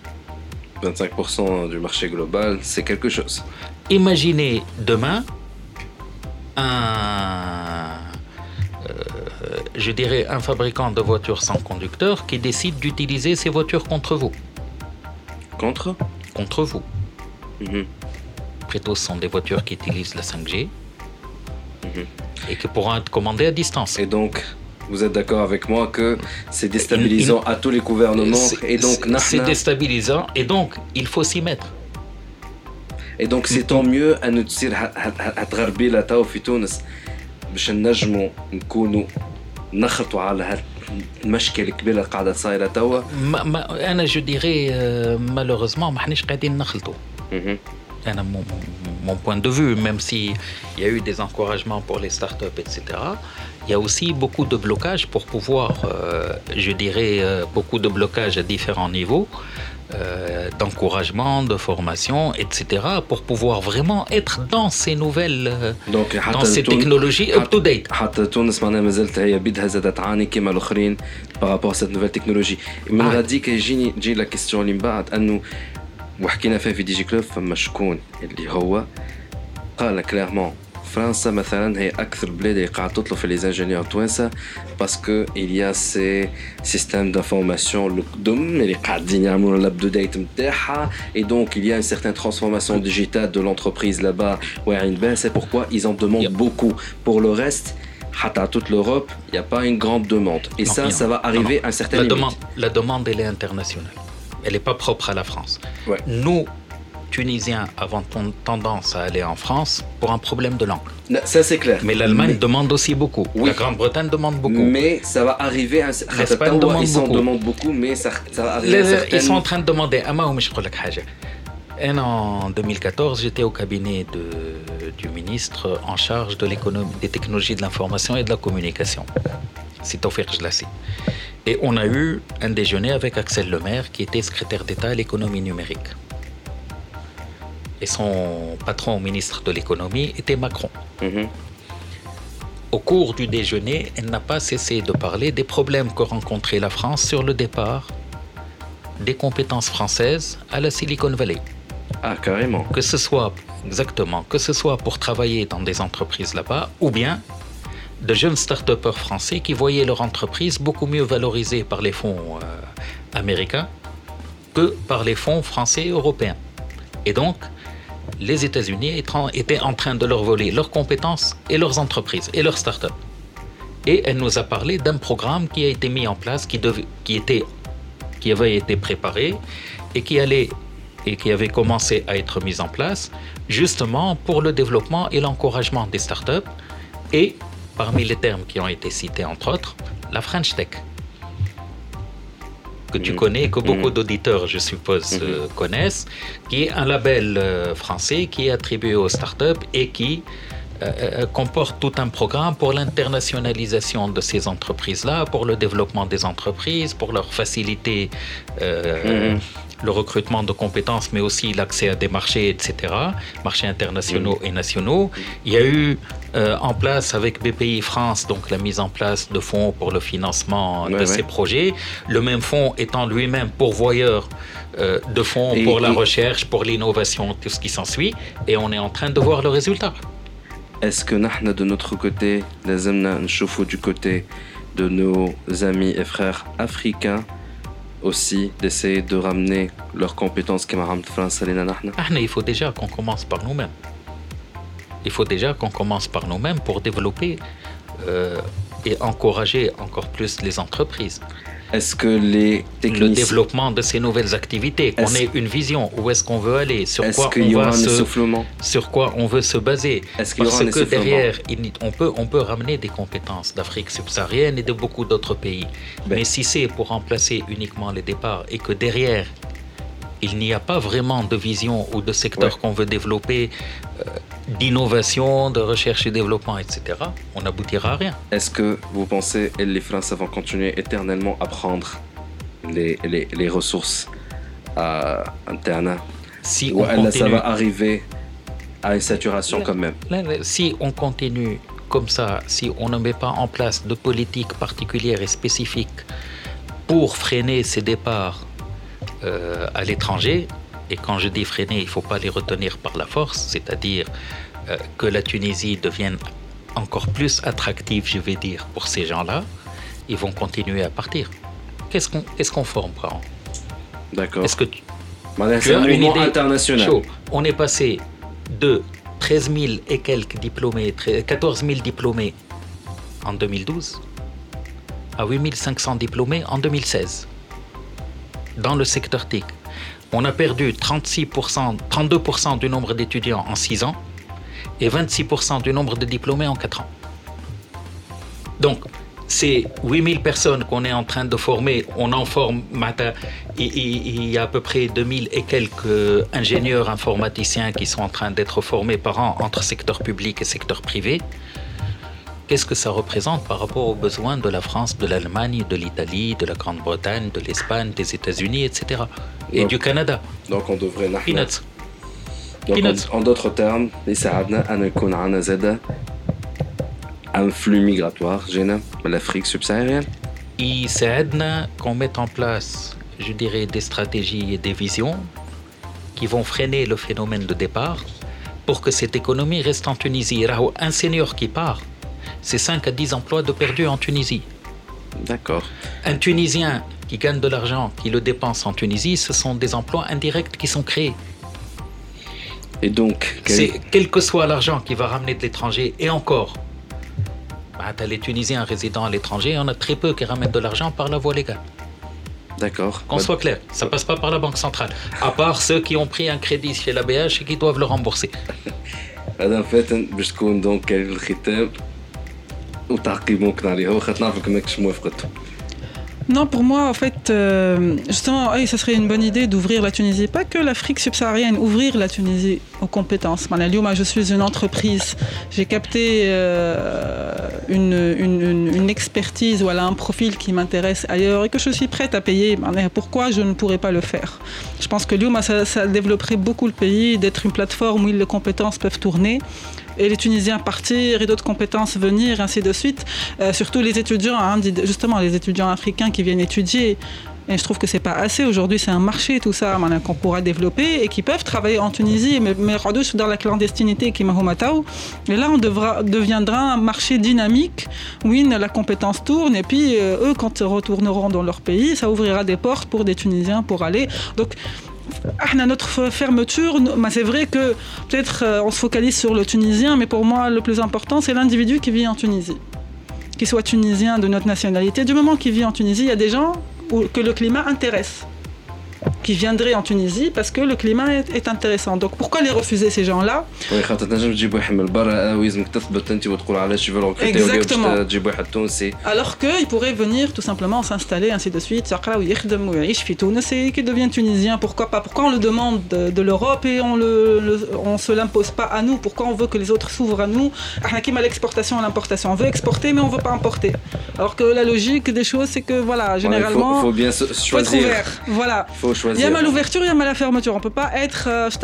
25% du marché global, c'est quelque chose. Imaginez demain je dirais un fabricant de voitures sans conducteur qui décide d'utiliser ces voitures contre vous. Contre vous. Plutôt, ce sont des voitures qui utilisent la 5G et qui pourront être commandées à distance. Et donc, vous êtes d'accord avec moi que c'est déstabilisant à tous les gouvernements et donc c'est déstabilisant et donc il faut s'y mettre. Et donc c'est tant mieux أن تصير هتغربيلة تو في تونس باش نجموا نكونوا نخلطوا على المشكلة الكبيرة قاعدة صايرة توا. أنا je dirais malheureusement ما حناش قاعدين نخلطوا. Mon point de vue, même s'il y a eu des encouragements pour les startups, etc., il y a aussi beaucoup de blocages pour pouvoir, je dirais, beaucoup de blocages à différents niveaux, d'encouragement, de formation, etc., pour pouvoir vraiment être dans ces nouvelles, dans ces technologies up-to-date. حتى تونس معناها مازالت هي بيدها زادت تعاني كما الآخرين par rapport à cette nouvelle technologie. من غاديك تجي لا كيستيون اللي من بعد أنه وحكينا فيها في دي جي كلوب فما شكون اللي هو قال كلارمون فرنسا مثلا هي اكثر بلاد اللي قاعده تطلب في لي انجينيور توانسه باسكو il y a ces systèmes d'information القدم اللي قاعدين يعملوا الاب ديت نتاعها et donc il y a une certaine transformation digitale de l'entreprise là-bas واعيين بها c'est pourquoi ils en demandent beaucoup pour le reste à toute l'Europe il n'y a pas une grande demande et ça va arriver à un certain limite. La demande elle est internationale. Elle n'est pas propre à la France. Ouais. Nous, Tunisiens avaient tendance à aller en France pour un problème de langue. Non, ça c'est clair. Mais l'Allemagne demande aussi beaucoup. Oui. La Grande-Bretagne demande beaucoup. Mais ça va arriver à un L'Espagne demande ils s'en beaucoup. demandent beaucoup, mais ça va arriver à un certain... Ils sont en train de demander. En 2014, j'étais au cabinet du ministre en charge de l'économie, des technologies de l'information et de la communication. C'est Tawfiq Jlassi. Et on a eu un déjeuner avec Axel Lemaire, qui était secrétaire d'État à l'économie numérique. Et son patron ministre de l'économie était Macron. Au cours du déjeuner, elle n'a pas cessé de parler des problèmes que rencontrait la France sur le départ des compétences françaises à la Silicon Valley. Ah, carrément. Que ce soit pour travailler dans des entreprises là-bas, ou bien de jeunes start-upers français qui voyaient leur entreprise beaucoup mieux valorisée par les fonds américains que par les fonds français et européens. Et donc, les États-Unis étaient en train de leur voler leurs compétences et leurs entreprises et leurs start-up. Et elle nous a parlé d'un programme qui a été mis en place, qui avait été préparé et qui avait commencé à être mis en place justement pour le développement et l'encouragement des start-up et parmi les termes qui ont été cités entre autres, la French Tech. Que tu connais, que beaucoup d'auditeurs, je suppose, connaissent, qui est un label français qui est attribué aux startups et qui comporte tout un programme pour l'internationalisation de ces entreprises-là, pour le développement des entreprises, pour leur faciliter le recrutement de compétences, mais aussi l'accès à des marchés, etc., marchés internationaux et nationaux. Il y a eu en place avec BPI France, donc la mise en place de fonds pour le financement de ces projets, le même fonds étant lui-même pourvoyeur de fonds pour la recherche, pour l'innovation, tout ce qui s'ensuit, et on est en train de voir le résultat. Est-ce que nous, de notre côté, لازمنا نشوفوا du côté de nos amis et frères africains aussi d'essayer de ramener leurs compétences qui m'ont France Il faut déjà qu'on commence par nous-mêmes. Il faut déjà qu'on commence par nous-mêmes pour développer et encourager encore plus les entreprises. Est-ce que les techniciens... Le développement de ces nouvelles activités, qu'on ait une vision, où est-ce qu'on veut aller, sur quoi on veut se baser. Est-ce qu'il y aura un que derrière, on peut ramener des compétences d'Afrique subsaharienne et de beaucoup d'autres pays. Mais si c'est pour remplacer uniquement les départs et que derrière, il n'y a pas vraiment de vision ou de secteur qu'on veut développer, d'innovation, de recherche et développement, etc., on n'aboutira à rien. Est-ce que vous pensez que les Français vont continuer éternellement à prendre les ressources internes ou ça va arriver à une saturation quand même? Si on continue comme ça, si on ne met pas en place de politique particulière et spécifique pour freiner ces départs à l'étranger, et quand je dis freiner, il ne faut pas les retenir par la force, c'est-à-dire que la Tunisie devienne encore plus attractive, je vais dire, pour ces gens-là, ils vont continuer à partir. Qu'est-ce qu'on forme par an? D'accord. Est-ce que tu as une idée internationale? Chaud. On est passé de 13 000 et quelques diplômés, 14 000 diplômés en 2012 à 8 500 diplômés en 2016. Dans le secteur TIC, on a perdu 32% du nombre d'étudiants en 6 ans et 26% du nombre de diplômés en 4 ans. Donc, ces 8000 personnes qu'on est en train de former, on en forme, il y a à peu près 2000 et quelques ingénieurs informaticiens qui sont en train d'être formés par an entre secteur public et secteur privé. Qu'est-ce que ça représente par rapport aux besoins de la France, de l'Allemagne, de l'Italie, de la Grande-Bretagne, de l'Espagne, des États-unis, etc. Et du Canada. Donc on devrait... Peanuts. Donc en d'autres termes, يساعدنا أن يكون عندنا زادة un flux migratoire gênant de l'Afrique subsaharienne. يساعدنا qu'on mette en place, je dirais, des stratégies et des visions qui vont freiner le phénomène de départ pour que cette économie reste en Tunisie. Un senior qui part, c'est 5 à 10 emplois de perdus en Tunisie. D'accord. Un Tunisien qui gagne de l'argent, qui le dépense en Tunisie, ce sont des emplois indirects qui sont créés. Et donc, quel que soit l'argent qui va ramener de l'étranger, et encore, les Tunisiens résidant à l'étranger, on a très peu qui ramènent de l'argent par la voie légale. D'accord. Qu'on soit clair, ça passe pas par la Banque centrale. À part ceux qui ont pris un crédit chez la BH et qui doivent le rembourser. مدام فاتن باش تكون دونك كلمة الختام وتعقيب ممكن عليها وخاطر نعرفك ماكش موافقته. Non, pour moi, en fait, justement, ça serait une bonne idée d'ouvrir la Tunisie. Pas que l'Afrique subsaharienne, ouvrir la Tunisie aux compétences. Moi, je suis une entreprise. J'ai capté une expertise ou un profil qui m'intéresse ailleurs et que je suis prête à payer. Pourquoi je ne pourrais pas le faire? Je pense que ça développerait beaucoup le pays, d'être une plateforme où les compétences peuvent tourner. Et les Tunisiens partir et d'autres compétences venir, ainsi de suite. Surtout les étudiants, justement les étudiants africains qui viennent étudier. Et je trouve que c'est pas assez. Aujourd'hui, c'est un marché, tout ça, qu'on pourra développer et qui peuvent travailler en Tunisie, mais dans la clandestinité qui m'a. Et là, on deviendra un marché dynamique où la compétence tourne. Et puis, eux, quand ils retourneront dans leur pays, ça ouvrira des portes pour des Tunisiens pour aller. Donc, notre fermeture, c'est vrai que peut-être on se focalise sur le Tunisien, mais pour moi le plus important c'est l'individu qui vit en Tunisie, qu'il soit tunisien de notre nationalité. Du moment qu'il vit en Tunisie, il y a des gens que le climat intéresse, qui viendraient en Tunisie parce que le climat est intéressant. Donc pourquoi les refuser ces gens-là? Oui, خاطر تنجم تجيب واحد من برا ويلزمك تثبت انت وتقول علاش يفرقوا كريتير تجيب واحد تونسي. Alors que il pourrait venir tout simplement s'installer ainsi de suite, يقرا ويخدم ويعيش في تونس et qui devient tunisien. Pourquoi pas? Pourquoi on le demande de l'Europe et on se l'impose pas à nous? Pourquoi on veut que les autres s'ouvrent à nous? احنا كيما l'exportation et l'importation, on veut exporter mais on veut pas importer. Alors que la logique des choses c'est que voilà, généralement il faut bien choisir. Voilà. Faut choisir. Il y a l'ouverture, il y a la fermeture. On peut pas être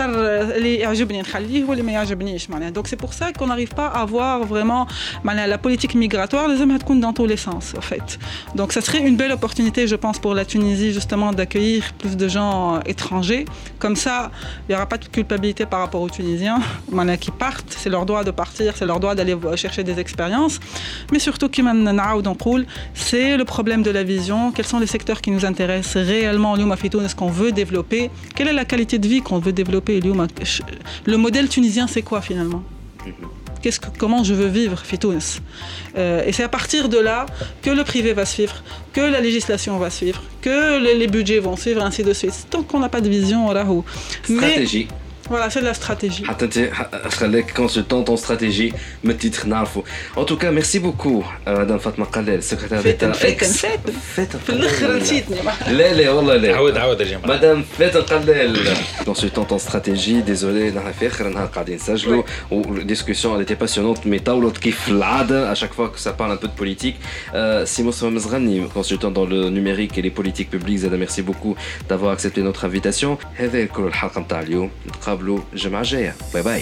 donc c'est pour ça qu'on n'arrive pas à voir vraiment la politique migratoire. Les hommes dans tous les sens en fait. Donc ça serait une belle opportunité, je pense, pour la Tunisie justement d'accueillir plus de gens étrangers. Comme ça, il y aura pas de culpabilité par rapport aux Tunisiens qui partent. C'est leur droit de partir, c'est leur droit d'aller chercher des expériences. Mais surtout, c'est le problème de la vision. Quels sont les secteurs qui nous intéressent réellement? Ce qu'on veut développer, quelle est la qualité de vie qu'on veut développer? Le modèle tunisien, c'est quoi finalement? Comment je veux vivre Fitounes? Et c'est à partir de là que le privé va suivre, que la législation va suivre, que les budgets vont suivre, ainsi de suite. Tant qu'on n'a pas de vision, stratégie. Voilà, c'est de la stratégie. خليك consultante en stratégie, me titre نعرفه. En tout cas, merci beaucoup Madame Fatma Qalel, secrétaire d'État. فاتن في الاخر نسيتني. لا والله لا. عاود يا جماعة. Madame Fatma Qalel, consultante en stratégie. Désolé, نحن في آخر نهار قاعدين نسجلوا والدiscussion elle était passionnante mais طولت كيف العادة à chaque fois que ça parle un peu de politique. Simo Mzrani, consultant dans le numérique et les politiques publiques. Zada, merci beaucoup d'avoir accepté notre invitation. هذا كل الحلقة نتاع اليوم. نتقابلوا الجمعة الجاية. باي باي.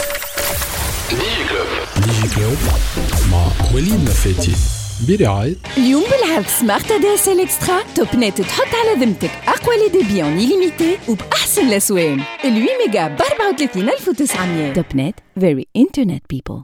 ديجي كلوب مع وليد نفاتي برعاية اليوم بالعرض سمارت دي اس ال اكسترا. توب نت تحط على ذمتك اقوى لي ديبي اون إليميتي وباحسن الاسوان. ال 8 ميجا ب 34900. توب نت very internet people.